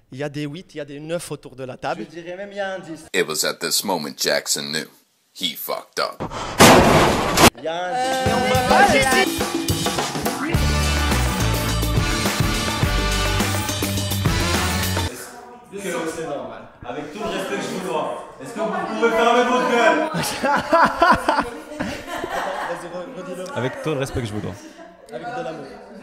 Il y a des 8, il y a des 9 autour de la table. Je dirais même il y a un 10. It was at this moment Jackson knew he fucked up. Il y a un 10. Et on va pas laisser... C'est normal. Avec tout le respect que je vous dois. Est-ce que vous pouvez fermer votre gueule? Vas-y, redis-le. Avec tout le respect que je vous dois. Avec de l'amour.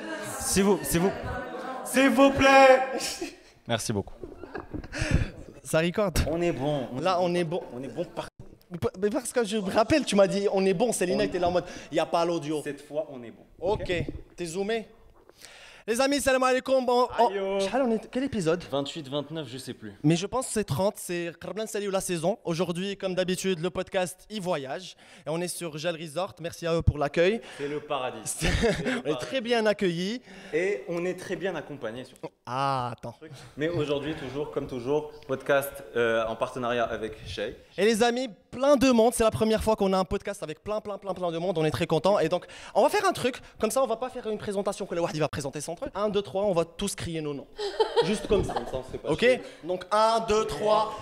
S'il vous plaît. Merci beaucoup. Ça recorde. On est bon. Là, on est bon. On est bon par... Mais parce que je me rappelle, tu m'as dit on est bon, Célina était là en mode il n'y a pas l'audio. Cette fois, on est bon. Ok, t'es zoomé. Les amis, salam alaikum. Quel épisode? 28, 29, je sais plus. Mais je pense que c'est 30, c'est Karblan Sali ou la saison. Aujourd'hui, comme d'habitude, le podcast y voyage. Et on est sur Gel Resort. Merci à eux pour l'accueil. C'est le paradis. On est très bien accueillis. Et on est très bien accompagnés surtout. Ah, attends. Mais aujourd'hui, toujours, comme toujours, podcast en partenariat avec Shay. Et les amis, plein de monde. C'est la première fois qu'on a un podcast avec plein de monde. On est très contents. Et donc, on va faire un truc. Comme ça, on va pas faire une présentation que le Wahdi va présenter son truc. 1, 2, 3, on va tous crier nos noms. Juste comme ça. Ok? Donc 1, 2, 3.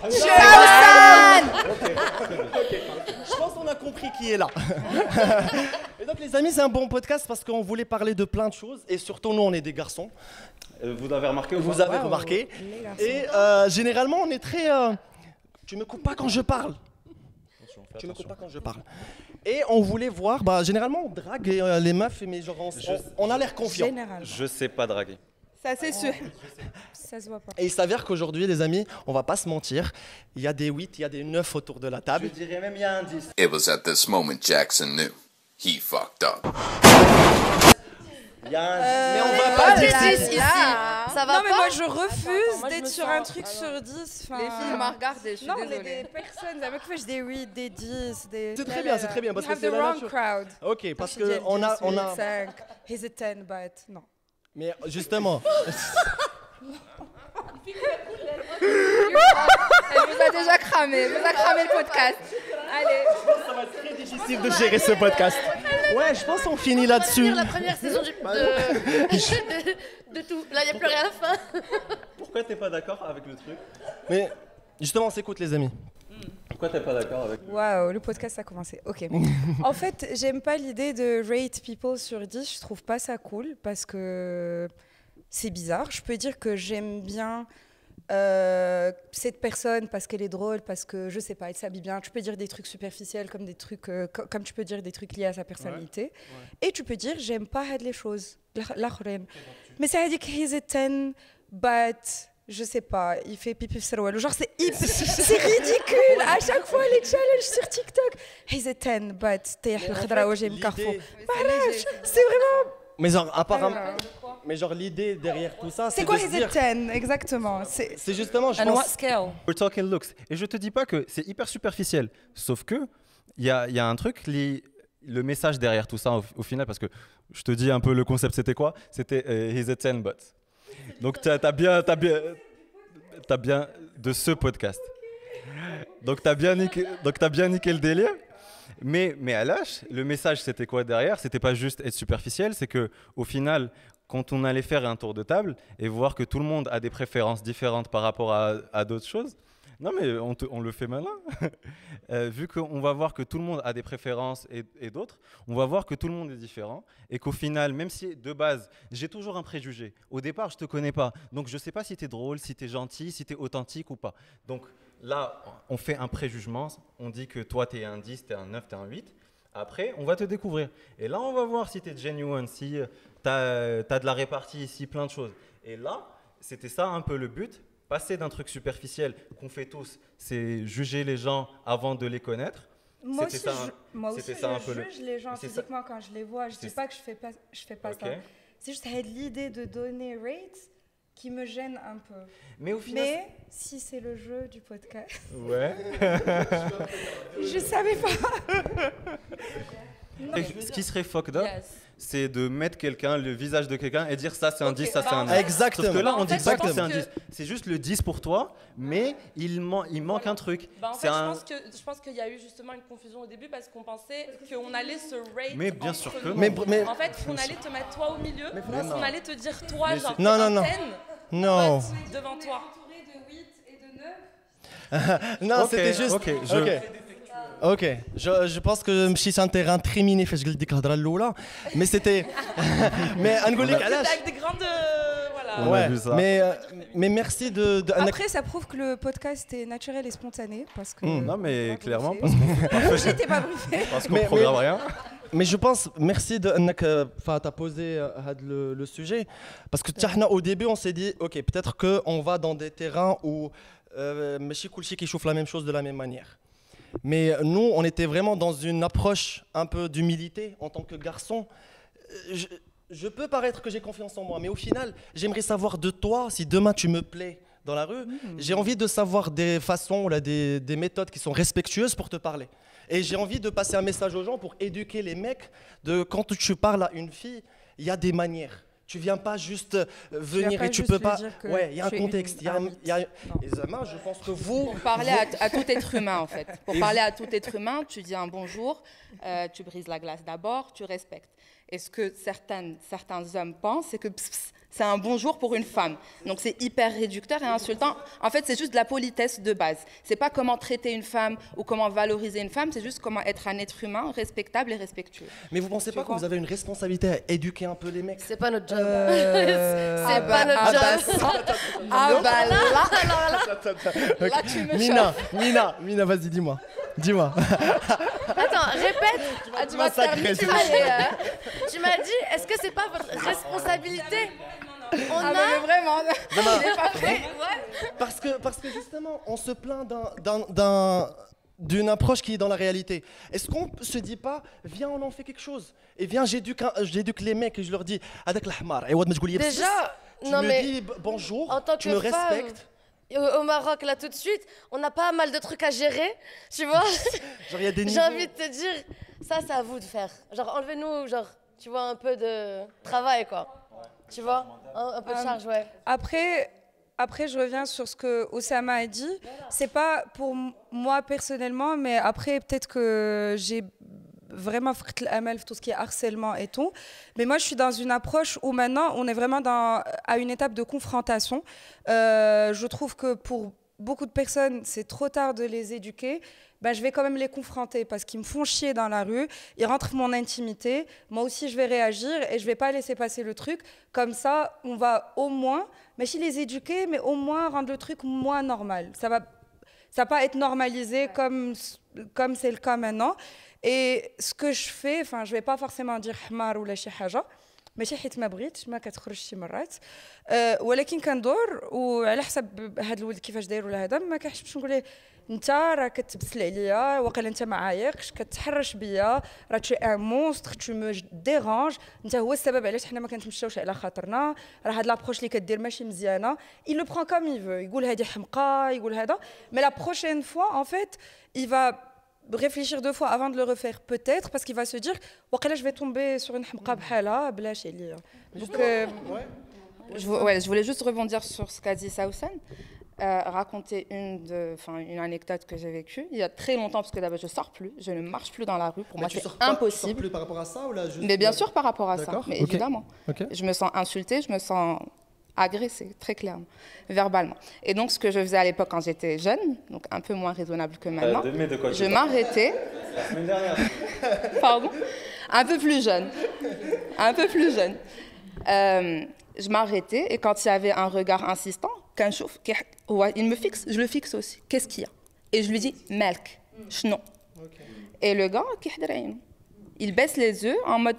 Je pense qu'on a compris qui est là. Et donc les amis, c'est un bon podcast parce qu'on voulait parler de plein de choses. Et surtout, nous, on est des garçons. Vous avez remarqué ou Vous pas? avez remarqué. Et généralement, on est très... Tu me coupes pas quand je parle. Tu me coupes pas quand je parle. Et on voulait voir, généralement on drague les meufs, mais genre on a l'air confiant. Je sais pas draguer. Ça c'est sûr. Ça se voit pas. Et il s'avère qu'aujourd'hui les amis, on va pas se mentir, il y a des 8, il y a des 9 autour de la table. Je dirais même il y a un 10. It was at this moment Jackson knew he fucked up. Il y a un 10. Mais on va pas dire là, ici. là. Ça va Non mais pas. moi je refuse moi, je d'être me sur sens- un truc sur 10. Les filles m'ont regardé, je suis Non, on est désolée. des personnes, des mecs qui font des 8, des 10, des... C'est très bien, c'est très bien, parce You que have c'est the la wrong nature. crowd. Ok, parce Je dis que on a... 5, he's a 10, but non. Mais justement, Elle nous a déjà cramé, elle nous a cramé le podcast. Allez, ça va être très difficile de gérer ce podcast. Ouais, je pense qu'on finit On va là-dessus. finir la première saison de tout. Là, il n'y a plus rien à la fin. Pourquoi t'es pas d'accord avec le truc? Mais justement, on s'écoute les amis. Pourquoi t'es pas d'accord avec le truc? Waouh, le podcast a commencé. Ok. En fait, j'aime pas l'idée de rate people sur 10. Je trouve pas ça cool parce que c'est bizarre. Je peux dire que j'aime bien cette personne parce qu'elle est drôle, parce que je sais pas, elle s'habille bien. Tu peux dire des trucs superficiels comme des trucs, comme tu peux dire des trucs liés à sa personnalité. Et tu peux dire j'aime pas les choses. Mais ça veut dire qu'il est 10, but je sais pas, il fait pipi sur genre c'est ridicule à chaque fois les challenges sur TikTok. He's a 10, but t'es le Carrefour. C'est vraiment. Mais genre, apparemment... Mais genre, l'idée derrière tout ça, C'est quoi de se He's a dire... 10 exactement. C'est justement, je And what pense... scale? We're talking looks. Et je te dis pas que c'est hyper superficiel. Sauf que il y a un truc, le message derrière tout ça au final, parce que je te dis un peu le concept, c'était quoi? C'était he's a 10 but. Donc t'as bien de ce podcast. Donc t'as bien niqué le délire. Mais à l'âge, le message c'était quoi derrière? C'était pas juste être superficiel, c'est que au final, quand on allait faire un tour de table et voir que tout le monde a des préférences différentes par rapport à d'autres choses. Non mais on le fait malin. Vu qu'on va voir que tout le monde a des préférences et d'autres, on va voir que tout le monde est différent et qu'au final, même si de base, j'ai toujours un préjugé. Au départ, je te connais pas, donc je sais pas si tu es drôle, si tu es gentil, si tu es authentique ou pas. Donc là, on fait un préjugement, on dit que toi tu es un 10, tu es un 9, tu es un 8. Après, on va te découvrir. Et là, on va voir si tu es genuine, si tu as de la répartie ici, plein de choses. Et là, c'était ça un peu le but. Passer d'un truc superficiel qu'on fait tous, c'est juger les gens avant de les connaître. Moi aussi, ça, je juge les gens physiquement quand je les vois. Je ne dis pas que je fais pas ça. C'est juste l'idée de donner rate qui me gêne un peu. Mais au final, si c'est le jeu du podcast, ouais. je savais pas. Ce qui serait fucked up, c'est de mettre quelqu'un, le visage de quelqu'un et dire ça c'est un 10, ça c'est un 10. Exactement. Sauf que là, on dit pas que pense c'est un que- 10. C'est juste le 10 pour toi, mais il manque un truc. Bah en C'est fait, un- je pense qu'il y a eu justement une confusion au début parce qu'on pensait qu'on allait se rate. Mais bien entre sûr que nous. non. Mais- En fait, on allait te mettre toi au milieu, non. on allait te dire toi, Mais genre, Non, t'es non, un non. 10, Non. but devant toi. Non, Ok, c'était juste. ok, Ok, je pense que مشيت sur un terrain très miné فاش قلت ديك الهضره الاولى mais c'était mais نقول لك علاش Avec des grandes. Voilà. On a vu ça. mais merci de Après, ça prouve que le podcast est naturel et spontané parce que. Non, mais clairement, J'étais pas briefée. parce qu'on Mais- programme rien. mais je pense merci de انك t'as posé le sujet parce que تحنا au début on s'est dit OK peut-être que on va dans des terrains où ماشي كلشي كيشوف la même chose de la même manière. Mais nous, on était vraiment dans une approche un peu d'humilité en tant que garçon. Je peux paraître que j'ai confiance en moi, mais au final, j'aimerais savoir de toi, si demain tu me plais dans la rue, j'ai envie de savoir des façons, là, des méthodes qui sont respectueuses pour te parler. Et j'ai envie de passer un message aux gens pour éduquer les mecs de quand tu parles à une fille, il y a des manières. Tu viens pas juste venir pas et tu juste peux lui pas. dire que Ouais, il y a un tu es contexte. une Il y a, Non. Et Zama, je pense que vous. Pour parler à tout être humain, en fait. Pour parler à tout être humain, tu dis un bonjour, tu brises la glace d'abord, tu respectes. Et ce que certains hommes pensent, c'est que c'est un bonjour pour une femme. Donc c'est hyper réducteur et insultant. En fait, c'est juste de la politesse de base. C'est pas comment traiter une femme ou comment valoriser une femme, c'est juste comment être un être humain respectable et respectueux. Mais vous pensez pas que vous avez une responsabilité à éduquer un peu les mecs? C'est pas notre job. C'est pas notre job. Ah bah là, Là, tu me chauffes. Mina, vas-y, dis-moi. Dis-moi. Attends, répète. ah, tu vas te faire massacrer, mitrailler. Tu m'as dit, est-ce que c'est pas votre responsabilité? On Ah a. mais vraiment, il est pas prêt. Parce que justement, on se plaint d'une approche qui est dans la réalité. Est-ce qu'on se dit pas, viens, on en fait quelque chose? Et viens, j'éduque les mecs et je leur dis, avec l'ahmar, Déjà, tu non me mais dis bonjour, en tant tu que me femme, respectes. au Maroc, là tout de suite, on a pas mal de trucs à gérer, tu vois. Genre, il y a des J'ai niveaux. envie de te dire, ça c'est à vous de faire. Genre, enlevez-nous, genre, tu vois, un peu de travail, quoi. Tu vois, un peu de charge, ouais. Après, je reviens sur ce que Oussama a dit. C'est pas pour moi personnellement, mais après, peut-être que j'ai vraiment fait l'amal tout ce qui est harcèlement et tout. Mais moi, je suis dans une approche où maintenant, on est vraiment à une étape de confrontation. Je trouve que pour beaucoup de personnes, c'est trop tard de les éduquer. Ben, je vais quand même les confronter parce qu'ils me font chier dans la rue, ils rentrent mon intimité, moi aussi je vais réagir et je vais pas laisser passer le truc. Comme ça, on va au moins, mais si les éduquer, mais au moins rendre le truc moins normal. Ça va pas être normalisé comme c'est le cas maintenant. Et ce que je fais, enfin je vais pas forcément dire hamar ou la شي حاجة ماشي حيت ما بغيتش ما كتخرجش شي مرات ولكن كندور وعلى حسب هذا الولد كيفاش داير ولا هذا ما كنحبش نقول له انت راه كتبسل عليا واقيلا انت ما عايقش كتحرش بيا راه تشي ان مونستر تو مو ديرانج انت هو السبب علاش حنا ما كنتمشاوش على خاطرنا راه هاد لابروش اللي كدير ماشي مزيانه il le prend comme il veut يقول هذه حمقى يقول هذا mais la prochaine fois en fait il va réfléchir 2 fois avant de le refaire peut-être parce qu'il va se dire واقيلا je vais tomber sur une حمقى بحالها بلاش عليا donc Je voulais juste rebondir sur ce qu'a dit Saoussen, raconter une anecdote que j'ai vécue il y a très longtemps, parce que d'abord je sors plus, je ne marche plus dans la rue, pour moi c'est impossible. Tu sors plus par rapport à ça ou là juste... Mais bien sûr par rapport à ça, mais okay. évidemment. Okay. Je me sens insultée, je me sens agressée, très clairement, verbalement. Et donc ce que je faisais à l'époque quand j'étais jeune, donc un peu moins raisonnable que maintenant, je m'arrêtais. La semaine dernière. Pardon. Un peu plus jeune. Un peu plus jeune. Je m'arrêtais et quand il y avait un regard insistant, il me fixe, je le fixe aussi. Qu'est-ce qu'il y a? Et je lui dis Melk, non. Et le gars, il baisse les yeux en mode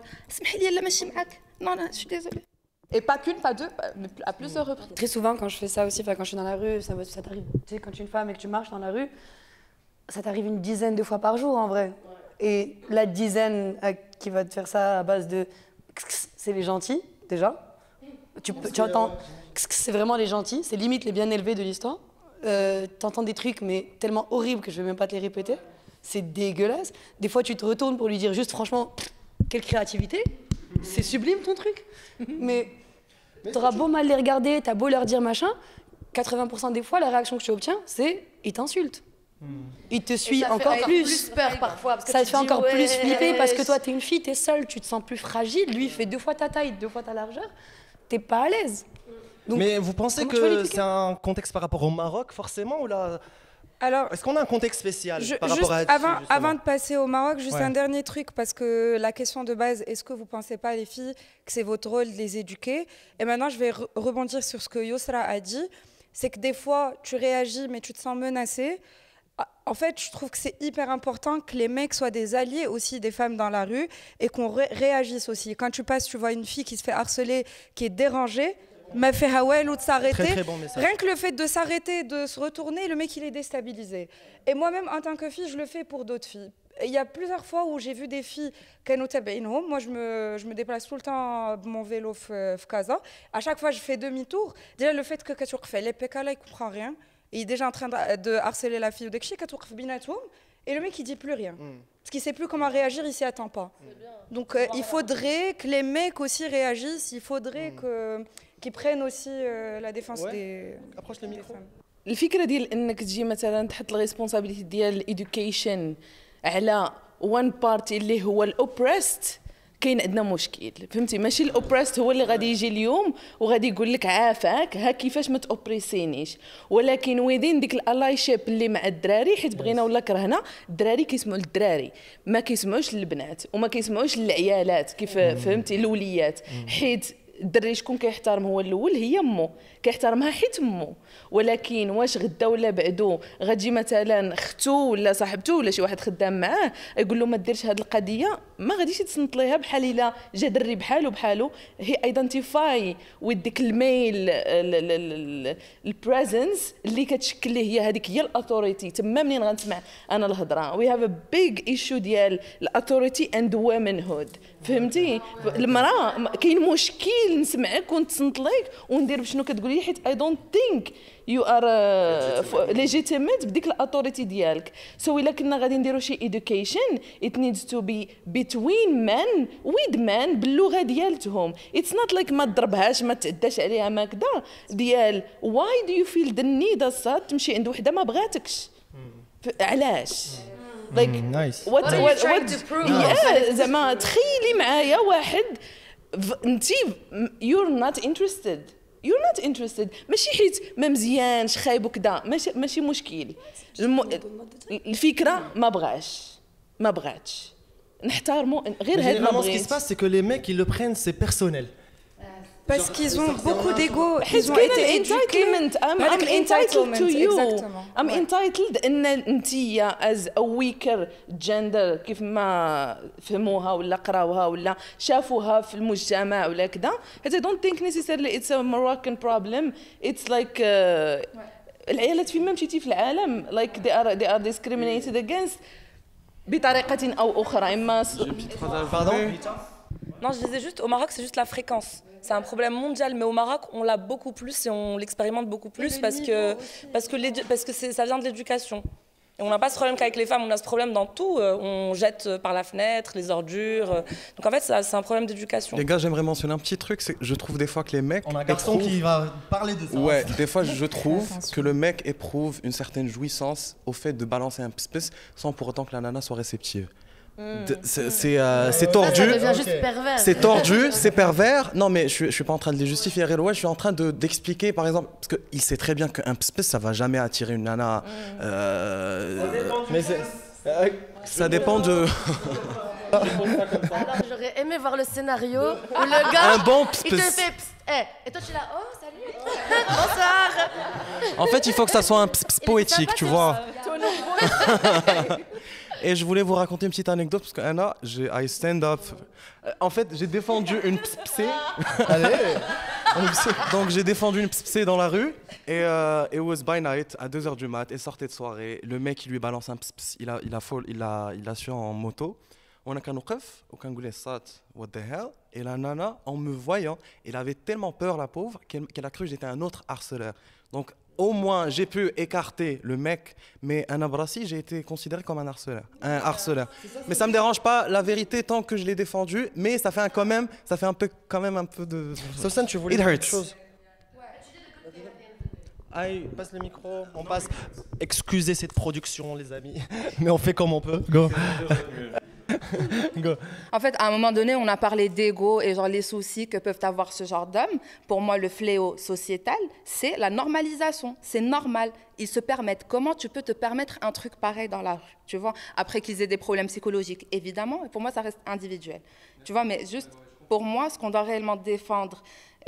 non, non, je suis désolée. Et pas qu'une, pas deux, mais à plusieurs reprises. Très souvent, quand je fais ça aussi, quand je suis dans la rue, ça t'arrive. Tu sais, quand tu es une femme et que tu marches dans la rue, ça t'arrive une dizaine de fois par jour en vrai. Et la dizaine qui va te faire ça à base de c'est les gentils, déjà. Tu entends, c'est vraiment les gentils, c'est limite les bien élevés de l'histoire. T'entends des trucs, mais tellement horribles que je vais même pas te les répéter. C'est dégueulasse. Des fois, tu te retournes pour lui dire juste, franchement, quelle créativité. C'est sublime ton truc. Mais t'auras beau mal les regarder, t'as beau leur dire machin, 80% des fois, la réaction que tu obtiens, c'est ils t'insultent. Il te suit encore plus. Peur parfois. Parce que ça te fait dis, encore plus flipper parce que ouais, toi, t'es une fille, t'es seule, tu te sens plus fragile. Lui, il fait 2 fois ta taille, 2 fois ta largeur. T'es pas à l'aise. Donc, Mais vous pensez comment tu vas que l'expliquer c'est un contexte par rapport au Maroc, forcément, ou là Alors, est-ce qu'on a un contexte spécial par juste rapport à avant de passer au Maroc, juste Ouais. un dernier truc, parce que la question de base, est-ce que vous ne pensez pas, les filles, que c'est votre rôle de les éduquer? Et maintenant, je vais rebondir sur ce que Yosra a dit, c'est que des fois, tu réagis, mais tu te sens menacé. En fait, je trouve que c'est hyper important que les mecs soient des alliés aussi des femmes dans la rue et qu'on réagisse aussi. Quand tu passes, tu vois une fille qui se fait harceler, qui est dérangée, m'a fait Hawel ou de s'arrêter. Très, très bon message. Rien que le fait de s'arrêter, de se retourner, le mec il est déstabilisé. Et moi-même en tant que fille, je le fais pour d'autres filles. Et il y a plusieurs fois où j'ai vu des filles moi je me déplace tout le temps avec mon vélo Casa. À chaque fois je fais demi-tour. Déjà le fait que tu fais les PK là, il comprend rien. Il est déjà en train de harceler la fille ou et le mec il dit plus rien. Parce qu'il sait plus comment réagir, il s'y attend pas. Donc il faudrait que les mecs aussi réagissent, il faudrait qu'ils prennent aussi la défense des Approche le micro. femmes. الفكره ديال انك تجي مثلا تحط الريسبونسابيلتي ديال الاديوكيشن على وان بارتي اللي هو الاوبريست كاين عندنا مشكل فهمتي ماشي الاوبريست هو اللي غادي يجي اليوم وغادي يقول لك عافاك ها كيفاش ما تاوبريسينيش ولكن ويدين ديك الالاي شيب اللي مع الدراري حيت بغينا ولا كرهنا الدراري كيسمعوا للدراري ما كيسمعوش للبنات وما كيسمعوش للعيالات كيف فهمتي الوليات حيت الدري شكون كيحترم هو الاول هي امه كيحترمها حيت امه ولكن واش غدا ولا بعدو غتجي مثلا اختو ولا صاحبته ولا شي واحد خدام معاه يقول له ما ديرش هذه القضيه ما غاديش يتصنت ليها بحال الا جا دري بحالو هي ايدنتيفاي وذ ديك الميل البريزنس اللي كتشكل ليه هي هذيك هي الاثوريتي تما منين غنسمع انا الهضره وي هاف ا بيج ايشو ديال الاثوريتي اند وومنهود فهمتي المراه كاين مشكل نسمعك ونتصنت ليك وندير بشنو كتقولي حيت اي دونت ثينك يو ار ليجيتيميت بديك الاثوريتي ديالك سو الا كنا غادي نديرو شي education it needs to be between men with men باللغه ديالتهم it's not like ما تضربهاش ما تعداش عليها ما كذا ديال why do you feel the need الصاد تمشي عند وحده ما بغاتكش علاش like nice. What are you trying to prove? yeah زعما تخيلي معايا واحد انتي you're not interested ماشي حيت ما مزيانش خايب وكذا ماشي مشكل الفكره ما بغاتش نحترموا غير هاد ما Généralement, ce qui se بغيت passe, c'est que les mecs, ils le prennent, c'est personnel. Parce qu'ils ont beaucoup d'ego, حيت ils ont كاين été éduqués. entitlement I'm هذاك entitled to you exactement. I'm Ouais. entitled ان انتيا as a weaker gender كيف ما فهموها ولا قراوها ولا شافوها في المجتمع ولا كذا حيت I don't think necessarily it's a Moroccan problem it's like العيالات فين ما مشيتي في العالم like they are discriminated against بطريقة أو أخرى إما Pardon Non, je disais juste, au Maroc, c'est juste la fréquence. C'est un problème mondial, mais au Maroc, on l'a beaucoup plus et on l'expérimente beaucoup plus parce que ça vient de l'éducation. Et on n'a pas ce problème qu'avec les femmes, on a ce problème dans tout. On jette par la fenêtre les ordures. Donc en fait, c'est un problème d'éducation. Les gars, j'aimerais mentionner un petit truc, c'est que je trouve des fois que les mecs... On a un garçon qui va parler de ça. Ouais, des fois je trouve que le mec éprouve une certaine jouissance au fait de balancer un pis sans pour autant que la nana soit réceptive. C'est tordu. Ça devient juste pervers. C'est tordu, c'est pervers. Non, mais je suis pas en train de les justifier. Ouais, je suis en train d'expliquer, par exemple, parce qu'il sait très bien qu'un pis ça va jamais attirer une nana. Mais ça dépend de. Alors j'aurais aimé voir le scénario où le gars Un bon il te fait psst, et toi tu es là oh salut bonsoir. En fait, il faut que ça soit un pis poétique, tu vois. Et je voulais vous raconter une petite anecdote parce que Anna, I stand up. En fait, j'ai défendu une psé. Allez. Donc j'ai défendu une psé dans la rue et it was by night à 2h du mat. Elle sortait de soirée. Le mec il lui balance un ps. Il a su en moto. On a qu'un oukaf, aucun goulet sat. What the hell? Et la nana, en me voyant, elle avait tellement peur la pauvre qu'elle a cru que j'étais un autre harceleur. Donc au moins, j'ai pu écarter le mec, mais un abrassi, j'ai été considéré comme un harceleur. Mais ça me dérange pas, la vérité, tant que je l'ai défendu, mais ça fait quand même un peu de... Sosan, tu voulais It dire hurts. quelque chose? Aïe, passe le micro, on passe. Excusez cette production, les amis, mais on fait comme on peut. Go. Go. En fait, à un moment donné, on a parlé d'ego et genre les soucis que peuvent avoir ce genre d'hommes. Pour moi, le fléau sociétal, c'est la normalisation. C'est normal. Ils se permettent. Comment tu peux te permettre un truc pareil dans la rue, tu vois, après qu'ils aient des problèmes psychologiques? Évidemment, pour moi, ça reste individuel. Tu vois, mais juste pour moi, ce qu'on doit réellement défendre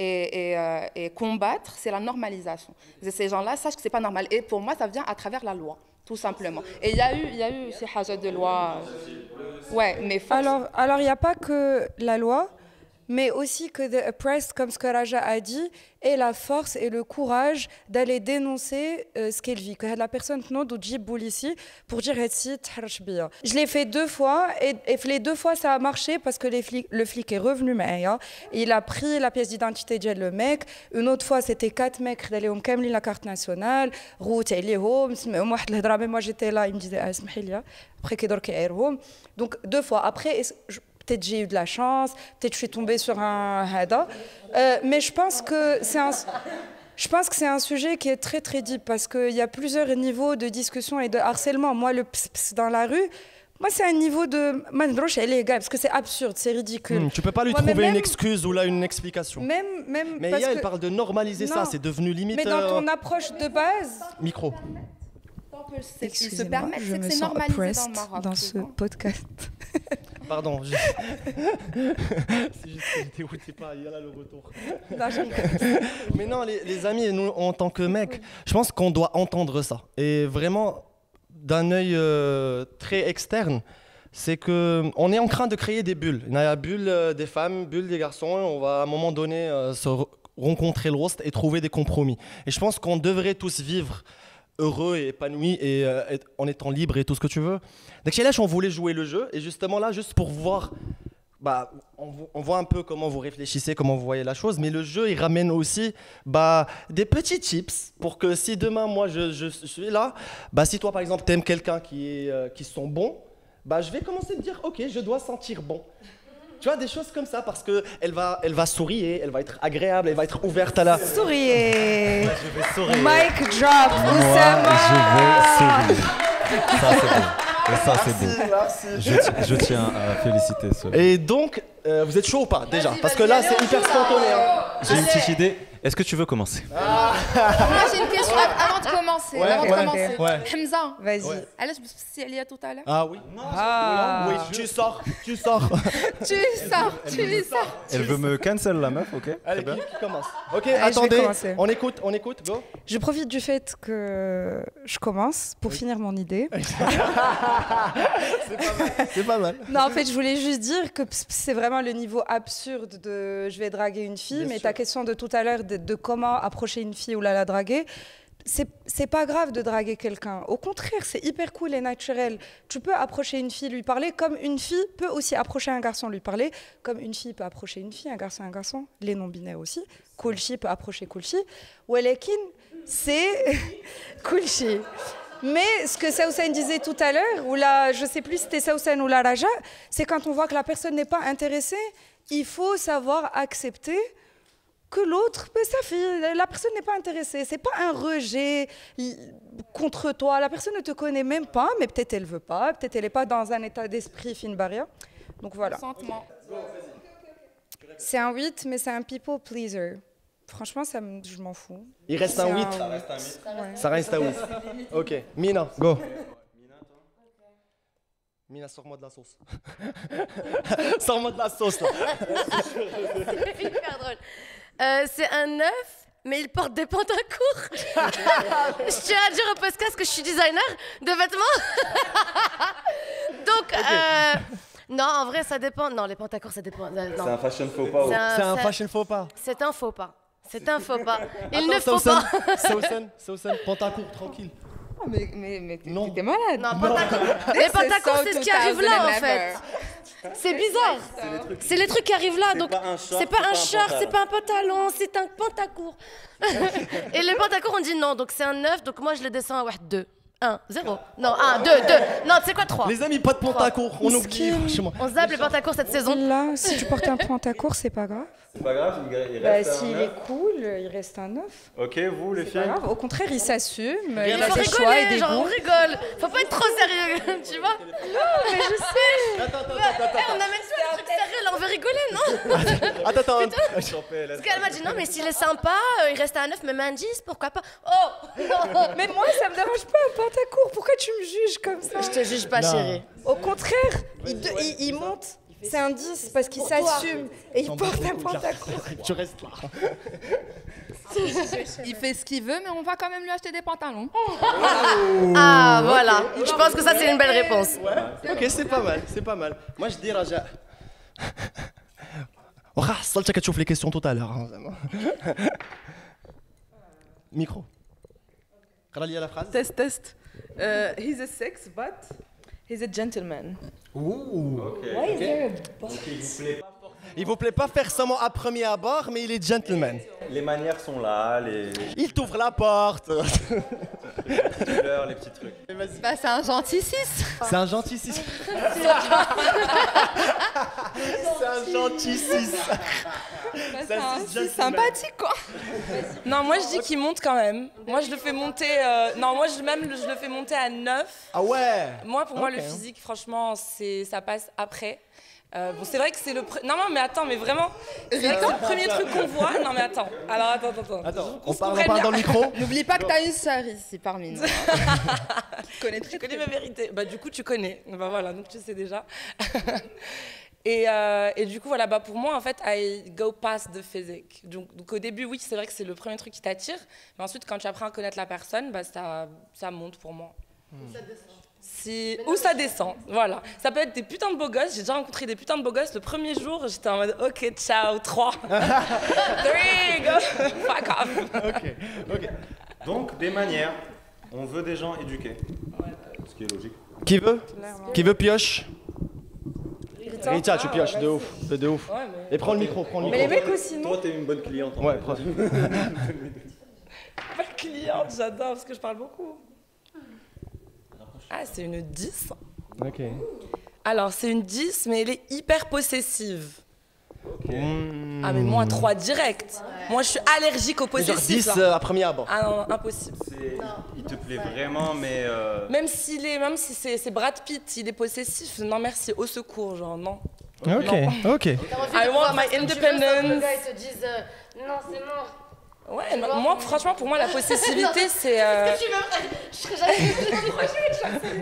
et combattre, c'est la normalisation. Ces gens-là sachent que c'est pas normal. Et pour moi, ça vient à travers la loi, tout simplement. Et il y a eu ces hajats de loi. Ouais, mais alors il n'y a pas que la loi, mais aussi que The Oppressed, comme ce que Raja a dit, ait la force et le courage d'aller dénoncer ce qu'elle vit. Que la personne ici pour dire je l'ai fait 2 fois et les 2 fois ça a marché parce que le flic est revenu il a pris la pièce d'identité de le mec. Une autre fois c'était 4 mecs d'aller on kamli la carte nationale route moi j'étais là il me disait après donc 2 fois après peut-être j'ai eu de la chance, peut-être je suis tombée sur un hada. Mais je pense que c'est un sujet qui est très très deep parce qu'il y a plusieurs niveaux de discussion et de harcèlement. Moi, le ps dans la rue, moi c'est un niveau de parce que c'est absurde, c'est ridicule. Tu peux pas lui trouver une excuse ou là une explication. Même mais elle parle de normaliser ça, c'est devenu limite. Mais dans ton approche de base. Micro. Excusez-moi, je me sens oppressed dans ce podcast. Pardon. C'est juste que j'étais dégoûté pas, il y a là le retour. Mais non, les amis, nous, en tant que mecs, je pense qu'on doit entendre ça. Et vraiment, d'un œil très externe, c'est qu'on est en train de créer des bulles. Il y a la bulle des femmes, bulle des garçons. On va à un moment donné se rencontrer le roast et trouver des compromis. Et je pense qu'on devrait tous vivre heureux et épanoui et en étant libre et tout ce que tu veux. Donc chez Lèche, on voulait jouer le jeu et justement là, juste pour voir, on voit un peu comment vous réfléchissez, comment vous voyez la chose, mais le jeu, il ramène aussi des petits tips pour que si demain, moi, je suis là, si toi, par exemple, t'aimes quelqu'un qui sent bon, je vais commencer à te dire, ok, je dois sentir bon. Tu vois, des choses comme ça, parce qu'elle va sourire, elle va être agréable, elle va être ouverte à la... Souriez. Ouais, je vais sourire. Mic drop, Oussama. Je vais sourire. Ça, c'est beau. Et ça, c'est beau. Merci. Je tiens à féliciter cela. Et donc, vous êtes chaud ou pas, déjà? Parce que là, c'est hyper spontané. J'ai une petite idée. Est-ce que tu veux commencer? Moi, j'ai une question avant de commencer. Ouais. Hamza, vas-y. Elle est spécialisée tout à l'heure. Ah oui. Oui, tu sors. Tu sors. Elle veut me cancel la meuf, ok? Allez, qui commence? Ok, attendez, on écoute, go. Je profite du fait que je commence pour finir mon idée. C'est pas mal. Non, en fait, je voulais juste dire que c'est vraiment le niveau absurde de je vais draguer une fille, mais ta question de tout à l'heure de comment approcher une fille ou la draguer, c'est pas grave de draguer quelqu'un. Au contraire, c'est hyper cool et naturel. Tu peux approcher une fille, lui parler, comme une fille peut aussi approcher un garçon, lui parler, comme une fille peut approcher une fille, un garçon, les non-binaires aussi. Coolchi peut approcher Coolchi. Walekin, c'est Coolchi. Mais ce que Saoussane disait tout à l'heure, ou là, je sais plus si c'était Saoussane ou la Raja, c'est quand on voit que la personne n'est pas intéressée, il faut savoir accepter que l'autre, la personne n'est pas intéressée. C'est pas un rejet contre toi. La personne ne te connaît même pas, mais peut-être elle veut pas, peut-être elle n'est pas dans un état d'esprit fine barrière. Donc voilà. C'est un 8, mais c'est un people pleaser. Franchement, je m'en fous. Il reste un 8. Ça reste un 8. Ok. Mina, go. Mina, sors-moi de la sauce. Sors-moi de la sauce, là. C'est hyper drôle. C'est un 9, mais il porte des pantacours. Je tiens à dire au podcast que je suis designer de vêtements. Donc, non, en vrai, ça dépend. Non, les pantacours, ça dépend. C'est un fashion faux pas. C'est un fashion faux pas. C'est un faux pas. C'est un faux pas. Il ne faut pas. Saoussane, pantacourt, tranquille. Oh, mais t'es malade. Non, les pantacours, c'est ce qui arrive là, en fait. C'est bizarre. C'est les trucs qui arrivent là. Donc, c'est pas un short, c'est pas un pantalon, c'est un pantacourt. Et les pantacours, on dit non. Donc, c'est un 9. Donc, moi, je le descends à 2. 1, 0. Non, 1, 2, 2. Non, tu sais quoi, 3. Les amis, pas de pantacourt. On oublie, franchement. On zappe les pantacours cette saison. Là, si tu portes un pantacourt, c'est pas grave. C'est pas grave, il Bah, reste s'il un est 9. cool, il reste un 9. Ok, vous les C'est filles pas grave. Au contraire, il s'assume. Il Il a faut des choix et rigoler, des genre on goûts. rigole. Faut pas être trop sérieux, tu vois. Non, mais je sais. On amène ça un truc sérieux, là on veut rigoler, non? Attends. Parce qu'elle m'a dit non, mais s'il est sympa, il reste à un 9, même un 10, pourquoi pas? Oh! Mais moi, ça me dérange pas un pantacourt. Pourquoi tu me juges comme ça? Je te juge pas, Non. chérie. Au contraire, il monte. C'est un 10 parce qu'il s'assume et il porte un pantacourt. Tu restes là. Il fait ce qu'il veut, mais on va quand même lui acheter des pantalons. Ah, voilà. Je pense que ça, c'est une belle réponse. Ok, c'est pas mal. Moi, je dis Raja. حصلتك تشوف les questions tout à l'heure. Micro. قرا لي la phrase. Test. He's a sex, but he's a gentleman. Il vous plaît pas faire seulement à premier abord, mais il est gentleman. Les manières sont là, Il t'ouvre la porte. les fleurs, les petits trucs. Bah, c'est un gentil 6. C'est un gentil 6. C'est un gentil 6. C'est un 6 sympathique, quoi. Non, moi je dis qu'il monte quand même. Moi je le fais monter. Non, moi je le fais monter à 9. Ah ouais. Moi, pour moi, Ok. le physique, franchement, ça passe après. Bon, c'est vrai que c'est le. Non, mais attends, mais vraiment. C'est vrai que c'est le premier truc qu'on voit. Non, mais attends. Alors, attends. Attends, Qu'on on se parle comprenne dans le bien. micro. N'oublie pas que t'as une sœur ici parmi nous. Tu connais mes vérités. Bah, du coup, tu connais. Bah, voilà, donc tu sais déjà. Et du coup, voilà, bah, pour moi, en fait, I go past the physique. Donc au début, oui, c'est vrai que c'est le premier truc qui t'attire. Mais ensuite, quand tu apprends à connaître la personne, bah, ça monte pour moi. Ou ça descend, voilà. Ça peut être des putains de beaux gosses. J'ai déjà rencontré des putains de beaux gosses. Le premier jour, j'étais en mode ok, ciao, 3. 3, go, fuck off. Ok. Donc, des manières. On veut des gens éduqués. Ce qui est logique. Qui veut pioche? Rita, tu pioches, de ouf. Ouais, mais... Et prends le micro. Mais les mecs aussi, non? Toi, t'es une bonne cliente. En Ouais, fait. prends. Pas cliente, j'adore parce que je parle beaucoup. Ah, c'est une 10. Ok. Alors, c'est une 10, mais elle est hyper possessive. Ah, mais Hmm. moi, 3 direct. Moi, je suis allergique au Genre possessif. 10 là. à premier abord. Ah non, impossible. Il te plaît vraiment, mais. Même si c'est Brad Pitt, il est possessif. Non, merci, au secours, genre, non. Ok. I want my independence. Les gars, ils te disent non, c'est mort. Ouais, moi, franchement, pour moi, la possessivité, c'est... Qu'est-ce que tu veux? Je serais jamais.